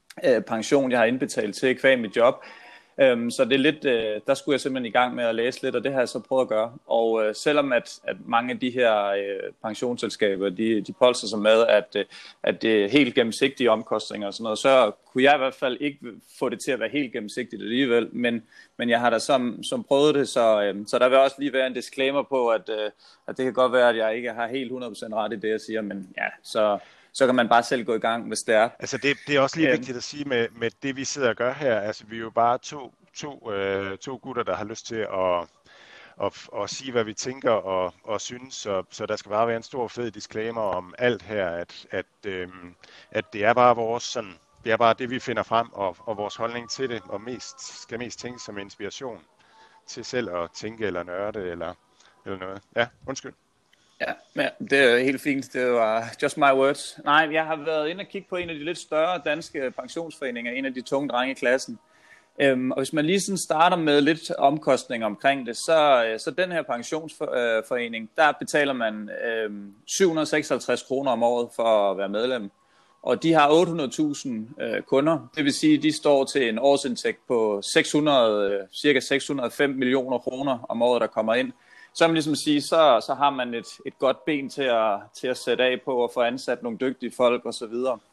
pension, jeg har indbetalt til kvæg mit job. Så det er lidt, der skulle jeg simpelthen i gang med at læse lidt, og det har jeg så prøvet at gøre. Og selvom at mange af de her pensionsselskaber, de polstrer sig med, at det er helt gennemsigtige omkostninger og sådan noget, så kunne jeg i hvert fald ikke få det til at være helt gennemsigtigt alligevel. Men jeg har da som prøvet det, så der vil også lige være en disclaimer på, at det kan godt være, at jeg ikke har helt 100% ret i det, jeg siger, men ja, så kan man bare selv gå i gang, hvis det er. Altså det er også lige vigtigt at sige med det, vi sidder og gør her. Altså vi er jo bare to gutter, der har lyst til at sige, hvad vi tænker og synes. Så der skal bare være en stor fed disclaimer om alt her, at det er bare vores sådan, det er bare det, vi finder frem, og vores holdning til det, og skal mest tænke som inspiration til selv at tænke eller nørde eller noget. Ja, undskyld. Ja, det er helt fint. Det var just my words. Nej, jeg har været inde og kigge på en af de lidt større danske pensionsforeninger, en af de tunge drenge i klassen. Og hvis man lige sådan starter med lidt omkostninger omkring det, så den her pensionsforening, der betaler man 756 kroner om året for at være medlem. Og de har 800.000 kunder, det vil sige, at de står til en årsindtægt på cirka 605 millioner kroner om året, der kommer ind. Så man ligesom sige, så har man et godt ben til at sætte af på og få ansat nogle dygtige folk osv.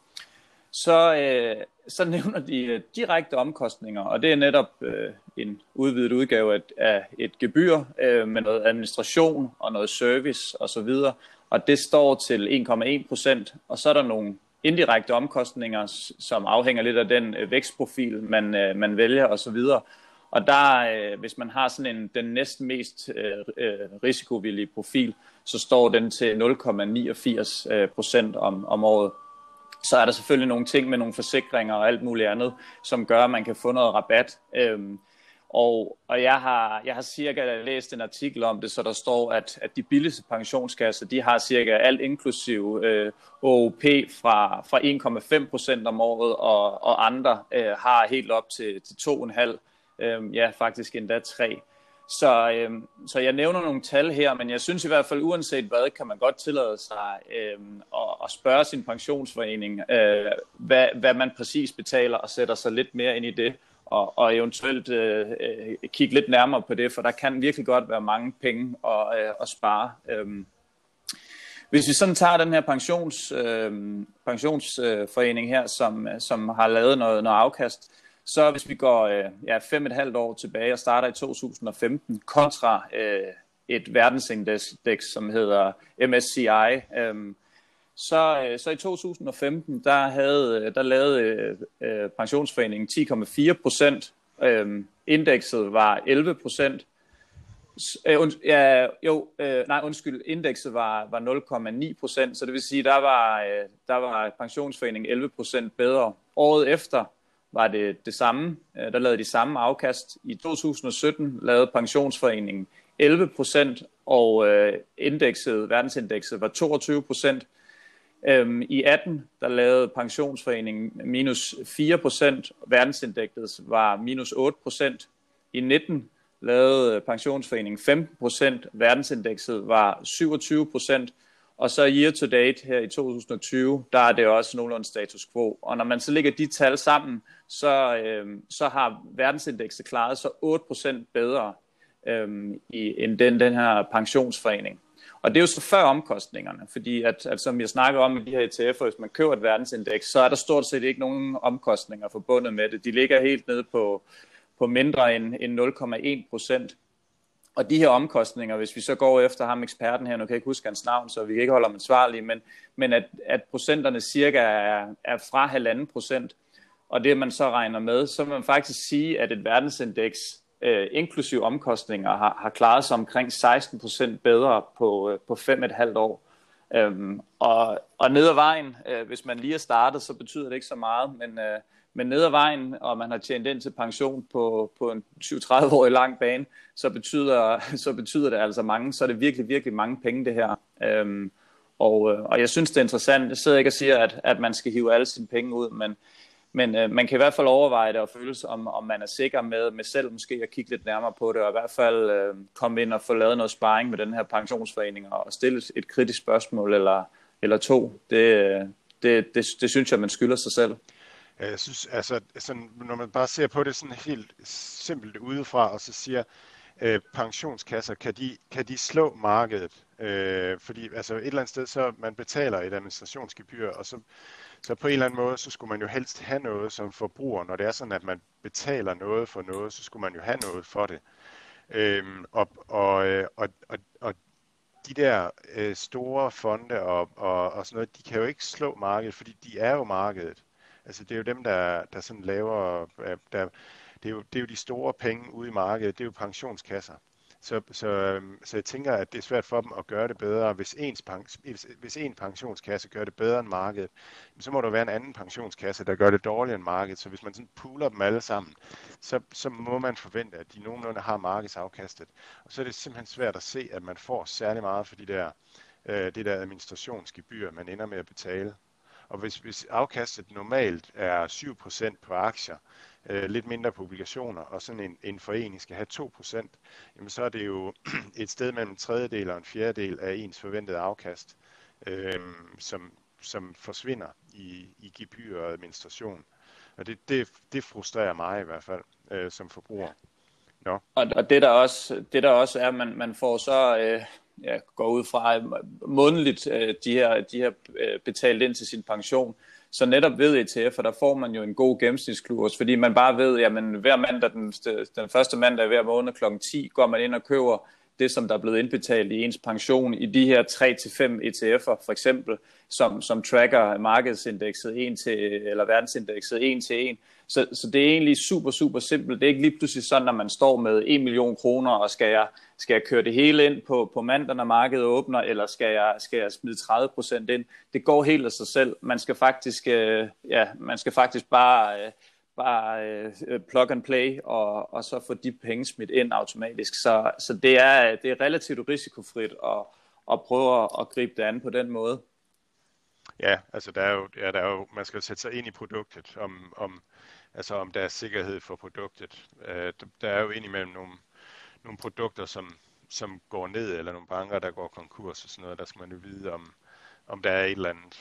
Så nævner de direkte omkostninger, og det er netop en udvidet udgave af et gebyr med noget administration og noget service osv. Og det står til 1,1%, og så er der nogle indirekte omkostninger, som afhænger lidt af den vækstprofil, man vælger osv. Og der, hvis man har sådan den næsten mest risikovillige profil, så står den til 0,89% om året. Så er der selvfølgelig nogle ting med nogle forsikringer og alt muligt andet, som gør, at man kan få noget rabat. Og jeg har cirka læst en artikel om det, så der står, at de billigste pensionskasser, de har cirka alt inklusiv OOP fra 1,5% om året, og andre har helt op til 2,5%. Ja, faktisk endda 3. Så jeg nævner nogle tal her, men jeg synes i hvert fald, uanset hvad, kan man godt tillade sig at spørge sin pensionsforening, hvad man præcis betaler, og sætter sig lidt mere ind i det, og eventuelt kigge lidt nærmere på det, for der kan virkelig godt være mange penge at spare. Hvis vi sådan tager den her pensionsforening her, som har lavet noget afkast, så hvis vi går 5,5 år tilbage og starter i 2015 kontra et verdensindeks, som hedder MSCI, så i 2015 der lavede pensionsforeningen 10,4%, indekset var 11%. Indekset var 0,9%, så det vil sige, der var pensionsforeningen 11% bedre. Året efter var det samme, der lavede de samme afkast. I 2017 lavede pensionsforeningen 11%, og verdensindekset var 22%. I 18 der lavede pensionsforeningen minus 4%, verdensindekset var minus 8%. I 19 lavede pensionsforeningen 15%, verdensindekset var 27%. Og så year to date her i 2020, der er det også nogenlunde status quo. Og når man så lægger de tal sammen, så har verdensindekset klaret sig 8% bedre end den her pensionsforening. Og det er jo så før omkostningerne, fordi at som jeg snakker om i de her ETF'er, hvis man køber et verdensindeks, så er der stort set ikke nogen omkostninger forbundet med det. De ligger helt nede på mindre end 0,1%. Og de her omkostninger, hvis vi så går efter ham eksperten her, nu kan jeg ikke huske hans navn, så vi kan ikke holde ham ansvarlig, men at procenterne cirka er fra 1,5%, og det man så regner med, så vil man faktisk sige, at et verdensindeks, inklusive omkostninger, har klaret sig omkring 16% bedre på 5,5 år. Og ned ad vejen, hvis man lige er startet, så betyder det ikke så meget, men ned ad vejen, og man har tjent ind til pension på en 20-30-årig lang bane, så betyder det altså mange, så er det virkelig, virkelig mange penge det her. Og jeg synes, det er interessant. Jeg sidder ikke og siger, at man skal hive alle sine penge ud, men man kan i hvert fald overveje det og føle sig, om man er sikker med selv måske at kigge lidt nærmere på det, og i hvert fald komme ind og få lavet noget sparring med den her pensionsforening og stille et kritisk spørgsmål eller to. Det synes jeg, man skylder sig selv. Jeg synes, altså, sådan, når man bare ser på det sådan helt simpelt udefra, og så siger, pensionskasser, kan de slå markedet? Fordi altså et eller andet sted, så man betaler et administrationsgebyr, og så på en eller anden måde, så skulle man jo helst have noget som forbruger. Når det er sådan, at man betaler noget for noget, så skulle man jo have noget for det. Og de der store fonde og sådan noget, de kan jo ikke slå markedet, fordi de er jo markedet. Altså det er jo dem, der sådan laver, det er jo de store penge ude i markedet, det er jo pensionskasser. Så jeg tænker, at det er svært for dem at gøre det bedre. Hvis en pensionskasse gør det bedre end markedet, så må der være en anden pensionskasse, der gør det dårligere end markedet. Så hvis man sådan pooler dem alle sammen, så må man forvente, at de nogenlunde har markedsafkastet. Og så er det simpelthen svært at se, at man får særlig meget for det der administrationsgebyr, man ender med at betale. Og hvis afkastet normalt er 7% på aktier, lidt mindre på obligationer, og sådan en forening skal have 2%, jamen så er det jo et sted mellem en tredjedel og en fjerdedel af ens forventede afkast, som forsvinder i gebyr og administration. Og det frustrerer mig i hvert fald som forbruger. No. Og det der også er, man får så går ud fra månedligt de her betalt ind til sin pension. Så netop ved ETF'er, der får man jo en god gennemsnitskurs, fordi man bare ved, jamen hver mandag, den første mandag hver måned kl. 10, går man ind og køber det, som der er blevet indbetalt i ens pension i de her 3-5 ETF'er, for eksempel, som tracker markedsindekset 1 til, eller verdensindekset 1 til 1. Så det er egentlig super, super simpelt. Det er ikke lige pludselig sådan, at man står med 1 million kroner, og skal jeg køre det hele ind på mandag, når markedet åbner, eller skal jeg smide 30% ind? Det går helt af sig selv. Man skal faktisk bare plug and play, og så få de penge smidt ind automatisk. Så det er relativt risikofrit at prøve at gribe det an på den måde. Ja, altså der er jo, man skal sætte sig ind i produktet, om der er sikkerhed for produktet. Der er jo indimellem nogle produkter, som går ned, eller nogle banker, der går konkurs og sådan noget. Der skal man jo vide, om der er en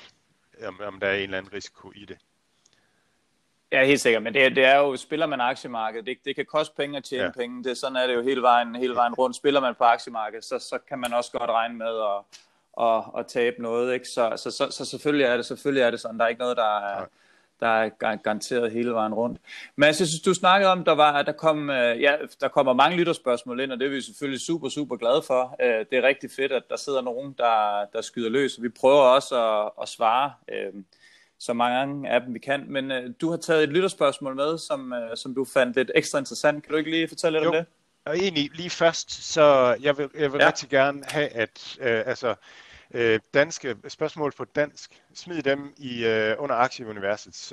eller anden risiko i det. Ja, helt sikkert, men det er jo, spiller man aktiemarkedet, det kan koste penge at tjene penge, sådan er det jo hele vejen rundt. Spiller man på aktiemarkedet, så kan man også godt regne med at tabe noget, ikke? Så selvfølgelig er det sådan, der er ikke noget, der er garanteret hele vejen rundt. Men jeg synes, du snakkede om, der kommer mange lytterspørgsmål ind, og det er vi selvfølgelig super, super glade for. Det er rigtig fedt, at der sidder nogen, der skyder løs, og vi prøver også at svare så mange af dem vi kan. Men du har taget et lytterspørgsmål med, som du fandt lidt ekstra interessant. Kan du ikke lige fortælle lidt om det? Og egentlig lige først, så jeg vil rigtig gerne have, at danske spørgsmål på dansk, smid dem under Aktieuniversets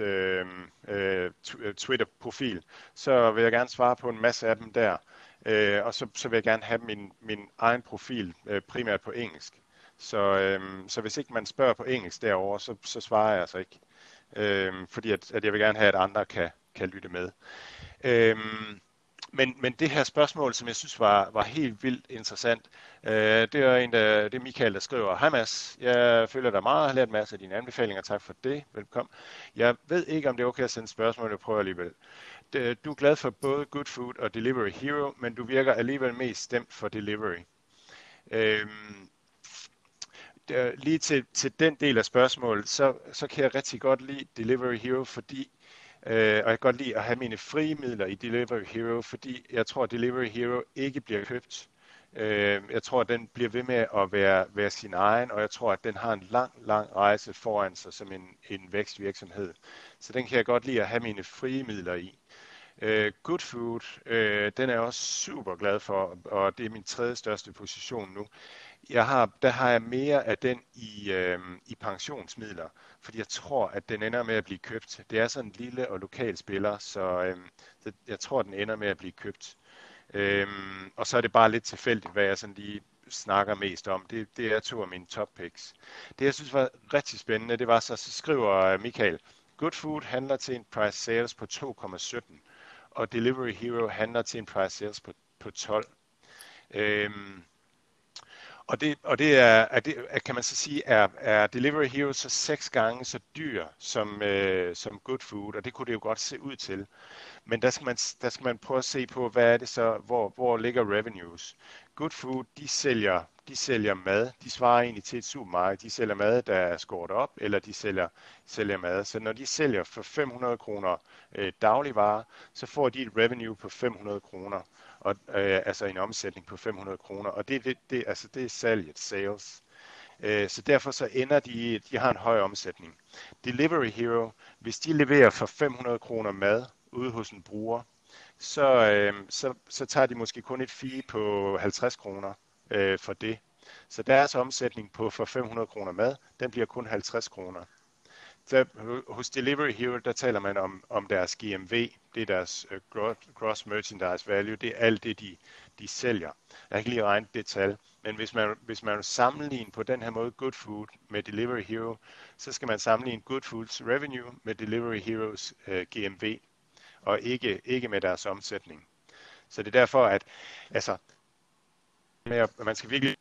Twitter-profil. Så vil jeg gerne svare på en masse af dem der. Og så vil jeg gerne have min egen profil primært på engelsk. Så hvis ikke man spørger på engelsk derovre, så svarer jeg altså ikke. Fordi at jeg vil gerne have, at andre kan lytte med. Men det her spørgsmål, som jeg synes var helt vildt interessant, det er Michael, der skriver: Hej Mads, jeg følger dig meget og har lært en masse af dine anbefalinger. Tak for det. Velkommen. Jeg ved ikke, om det er okay at sende spørgsmål, jeg prøver alligevel. Du er glad for både Good Food og Delivery Hero, men du virker alligevel mest stemt for Delivery. Lige til den del af spørgsmålet, så kan jeg rigtig godt lide Delivery Hero, fordi og jeg kan godt lide at have mine frie midler i Delivery Hero, fordi jeg tror, at Delivery Hero ikke bliver købt. Jeg tror, at den bliver ved med at være sin egen, og jeg tror, at den har en lang rejse foran sig som en vækstvirksomhed. Så den kan jeg godt lide at have mine frie midler i. Good Food, den er jeg også super glad for, og det er min tredje største position nu. Der har jeg mere af den i pensionsmidler, fordi jeg tror, at den ender med at blive købt. Det er sådan en lille og lokal spiller, så jeg tror, den ender med at blive købt. Og så er det bare lidt tilfældigt, hvad jeg sådan lige snakker mest om. Det er 2 af mine top picks. Det, jeg synes var rigtig spændende, det var så skriver Michael: Good Food handler til en price sales på 2,17, og Delivery Hero handler til en price sales på 12. Og det er, kan man så sige, er Delivery Hero så 6 gange så dyr som Good Food, og det kunne det jo godt se ud til. Men der skal man prøve at se på, hvad er det så, hvor ligger revenues. Good Food, de sælger mad, de svarer egentlig til et supermarked, de sælger mad, der er skåret op, eller de sælger mad. Så når de sælger for 500 kroner dagligvarer, så får de et revenue på 500 kroner, og, altså en omsætning på 500 kroner, og det er salget, sales. Så derfor så ender de har en høj omsætning. Delivery Hero, hvis de leverer for 500 kroner mad ude hos en bruger, så tager de måske kun et fee på 50 kroner for det. Så deres omsætning for 500 kroner mad, den bliver kun 50 kroner. Så hos Delivery Hero, der taler man om deres GMV, det er deres Gross Merchandise Value, det er alt det, de sælger. Jeg har ikke lige regnet det tal, men hvis man vil sammenligne på den her måde Good Food med Delivery Hero, så skal man sammenligne Good Foods revenue med Delivery Heroes GMV, og ikke med deres omsætning. Så det er derfor, at man skal virkelig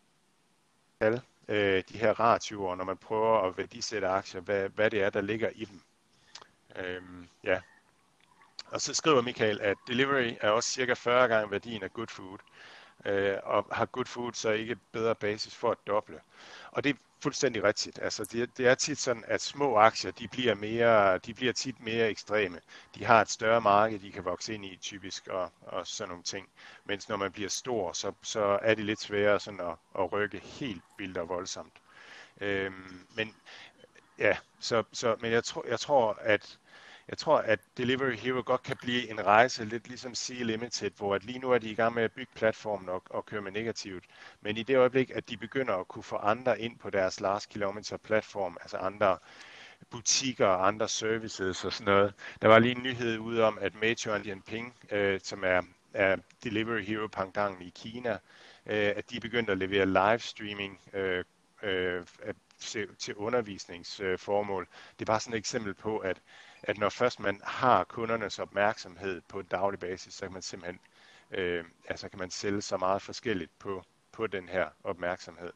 de her ratioer, når man prøver at værdisætte aktier, hvad det er, der ligger i dem. Ja. Og så skriver Michael, at Delivery er også cirka 40 gange værdien af Good Food, og har Good Food så ikke bedre basis for at doble. Og det er fuldstændig rigtigt. Altså det er tit sådan, at små aktier, de bliver tit mere ekstreme. De har et større marked, de kan vokse ind i typisk, og sådan nogle ting. Mens når man bliver stor, så er det lidt sværere sådan at rykke helt vildt og voldsomt. Men ja, men jeg tror, at Delivery Hero godt kan blive en rejse, lidt ligesom Sea Limited, hvor at lige nu er de i gang med at bygge platformen og køre med negativt. Men i det øjeblik, at de begynder at kunne få andre ind på deres last kilometer platform, altså andre butikker og andre services og sådan noget. Der var lige en nyhed ude om, at Meituan og Dianping, som er Delivery Hero pangdangen i Kina, at de er begyndt at levere livestreaming til undervisningsformål. Det er bare sådan et eksempel på, at når først man har kundernes opmærksomhed på en daglig basis, så kan man simpelthen kan man sælge så meget forskelligt på den her opmærksomhed.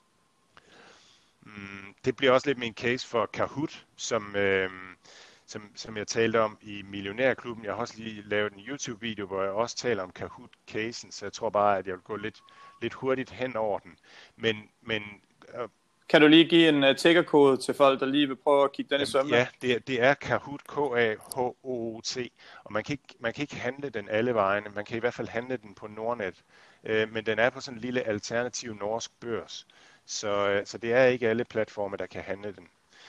Det bliver også lidt min case for Kahoot, som jeg talte om i Millionærklubben. Jeg har også lige lavet en YouTube-video, hvor jeg også taler om Kahoot-casen, så jeg tror bare, at jeg vil gå lidt hurtigt hen over den. Men kan du lige give en tickerkode til folk, der lige vil prøve at kigge den i sømne? Ja, det er Kahoot, K-A-H-O-O-T, og man kan ikke handle den alle vegne. Man kan i hvert fald handle den på Nordnet, men den er på sådan en lille alternativ norsk børs. Så det er ikke alle platforme, der kan handle den.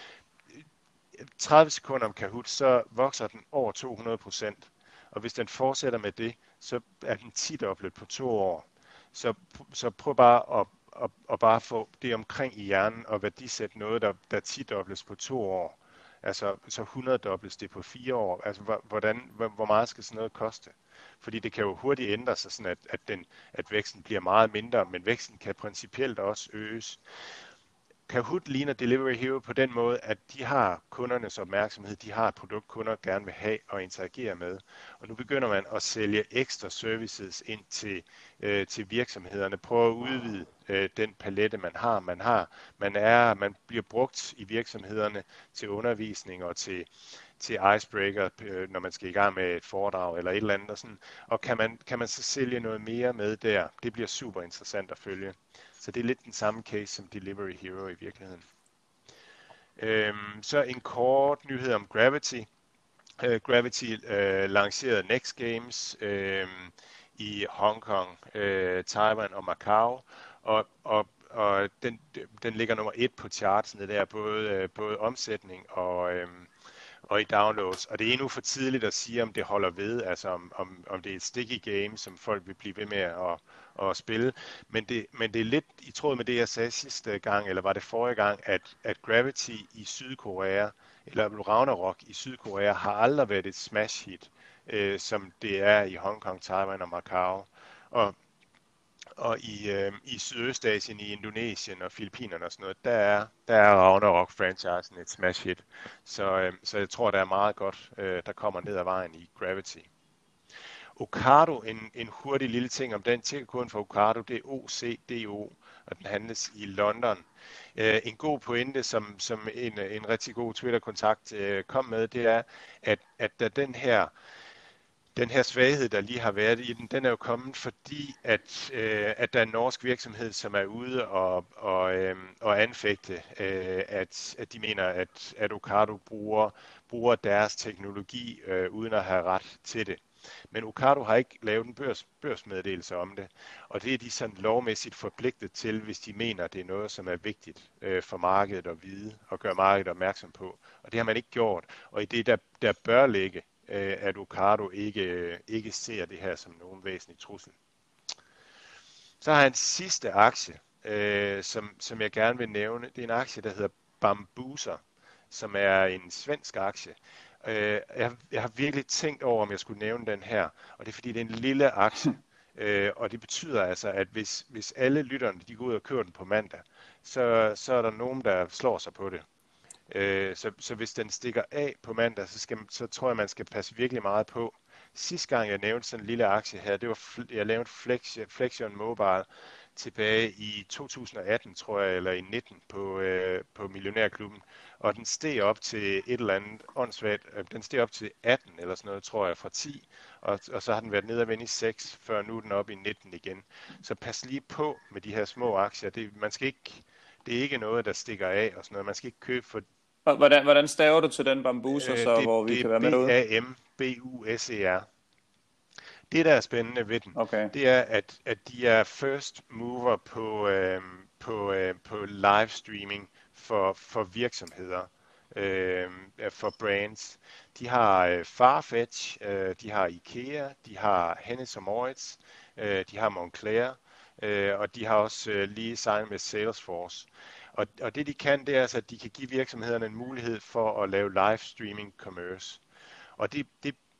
30 sekunder om Kahoot, så vokser den over 200%, og hvis den fortsætter med det, så er den 10-doblet på 2 år. Så prøv bare at bare få det omkring i hjernen og værdisætte noget, der 10-dobles på 2 år. Altså så 100-dobles det på 4 år. Altså hvor meget skal sådan noget koste? Fordi det kan jo hurtigt ændre sig sådan, at væksten bliver meget mindre, men væksten kan principielt også øges. Kahoot ligner Delivery Hero på den måde, at de har kundernes opmærksomhed, de har et produkt, kunder gerne vil have og interagere med. Og nu begynder man at sælge ekstra services ind til virksomhederne. Prøv at udvide den palette, man har. Man bliver brugt i virksomhederne til undervisning og til icebreaker, når man skal i gang med et foredrag eller et eller andet. Og, sådan. Og kan man så sælge noget mere med der? Det bliver super interessant at følge. Så det er lidt den samme case som Delivery Hero i virkeligheden. Så en kort nyhed om Gravity. Gravity lancerede Next Games i Hong Kong, Taiwan og Macau, og den ligger nummer 1 på chartsene der, både omsætning og i downloads. Og det er endnu for tidligt at sige, om det holder ved, altså om det er et sticky game, som folk vil blive ved med at spille. Men det er lidt i tråd med det, jeg sagde sidste gang, eller var det forrige gang, at Gravity i Sydkorea, eller Ragnarok i Sydkorea, har aldrig været et smash hit, som det er i Hongkong, Taiwan og Macau. Og i Sydøstasien, i Indonesien og Filippinerne og sådan noget, der er Ragnarok-franchisen et smash hit. Så jeg tror, der er meget godt, der kommer ned ad vejen i Gravity. Ocado, en hurtig lille ting om den. Tickerkoden for Ocado, det er OCDO, og den handles i London. En god pointe, som en rigtig god Twitter-kontakt kom med, det er, at da den her svaghed, der lige har været i den er jo kommet, fordi at der er en norsk virksomhed, som er ude og anfægte, at de mener, at Ocado bruger deres teknologi uden at have ret til det. Men Ocado har ikke lavet en børsmeddelelse om det, og det er de sådan lovmæssigt forpligtet til, hvis de mener, det er noget, som er vigtigt for markedet at vide og gøre markedet opmærksom på. Og det har man ikke gjort, og i det, der bør ligge, at Ocado ikke ser det her som nogen væsentlig trussel. Så har jeg en sidste aktie, som jeg gerne vil nævne. Det er en aktie, der hedder Bambuser, som er en svensk aktie. Jeg har virkelig tænkt over, om jeg skulle nævne den her, og det er fordi, det er en lille aktie. Og det betyder altså, at hvis alle lytterne de går ud og kører den på mandag, så er der nogen, der slår sig på det. Så hvis den stikker af på mandag, så tror jeg, man skal passe virkelig meget på. Sidste gang jeg nævnte sådan en lille aktie her, det var jeg lavede Flexion Mobile tilbage i 2018, tror jeg, eller i 19 på Millionærklubben, og den steg op til et eller andet åndssvagt. Den steg op til 18 eller sådan noget, tror jeg, fra 10, og så har den været nede og vende i 6, før nu er den op i 19 igen. Så pas lige på med de her små aktier. Det er ikke noget, der stikker af og sådan noget. Man skal ikke købe for... Hvordan staver du til den Bambuser, så hvor vi kan være med derude? Det er BAMBUSER. Det, der er spændende ved den, det er, at de er first mover på livestreaming for virksomheder, for brands. De har Farfetch, de har IKEA, de har Hennes & Mauritz, de har Moncler, og de har også lige signet med Salesforce. Og det de kan, det er altså, at de kan give virksomhederne en mulighed for at lave live streaming commerce. Og det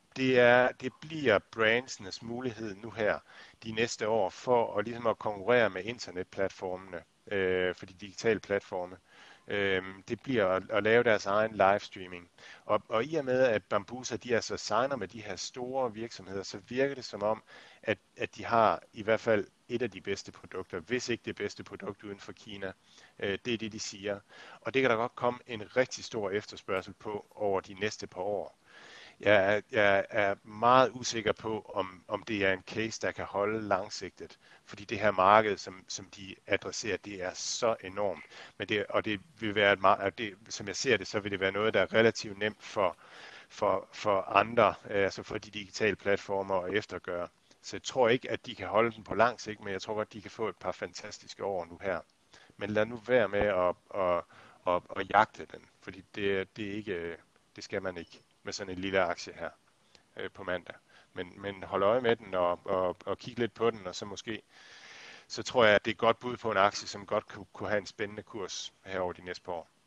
bliver brandsenes mulighed nu her de næste år for at konkurrere med internetplatformene, for de digitale platforme. Det bliver at lave deres egen livestreaming. Og i og med, at Bambuser de altså signer med de her store virksomheder, så virker det som om, at de har i hvert fald et af de bedste produkter, hvis ikke det bedste produkt uden for Kina. Det er det, de siger. Og det kan der godt komme en rigtig stor efterspørgsel på over de næste par år. Jeg er meget usikker på, om det er en case, der kan holde langsigtet, fordi det her marked, som de adresserer, det er så enormt. Men det vil være som jeg ser det, så vil det være noget, der er relativt nemt for andre, altså for de digitale platformer at eftergøre. Så jeg tror ikke, at de kan holde den på lang sigt, men jeg tror godt, de kan få et par fantastiske år nu her. Men lad nu være med at jagte den, fordi det er ikke, det skal man ikke med sådan en lille aktie her på mandag. Men hold øje med den og kig lidt på den, og så tror jeg, at det er et godt bud på en aktie, som godt kunne have en spændende kurs her over de næste par år.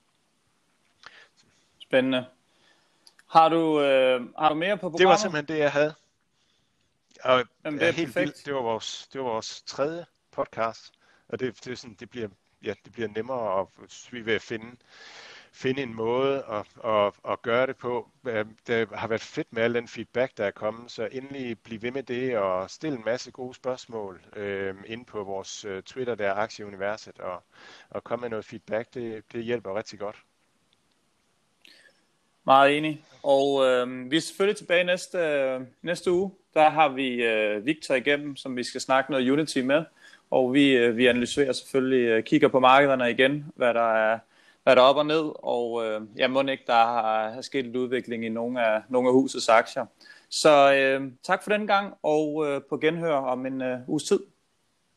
Spændende. Har du mere på programmet? Det var simpelthen det, jeg havde. Og jamen, det er helt vildt. Det var vores tredje podcast, og det bliver nemmere, og vi vil finde en måde at gøre det på. Det har været fedt med al den feedback, der er kommet, så endelig bliv ved med det og stille en masse gode spørgsmål inde på vores Twitter, der er Aktieuniverset, og komme med noget feedback. Det hjælper rigtig godt. Meget enig. Og vi er selvfølgelig tilbage næste uge. Der har vi Victor igennem, som vi skal snakke noget Unity med. Og vi analyserer selvfølgelig, kigger på markederne igen, hvad der er op og ned. Og jeg må ikke, der har sket en udvikling i nogle af husets aktier. Så tak for den gang, og på genhør om en uges tid.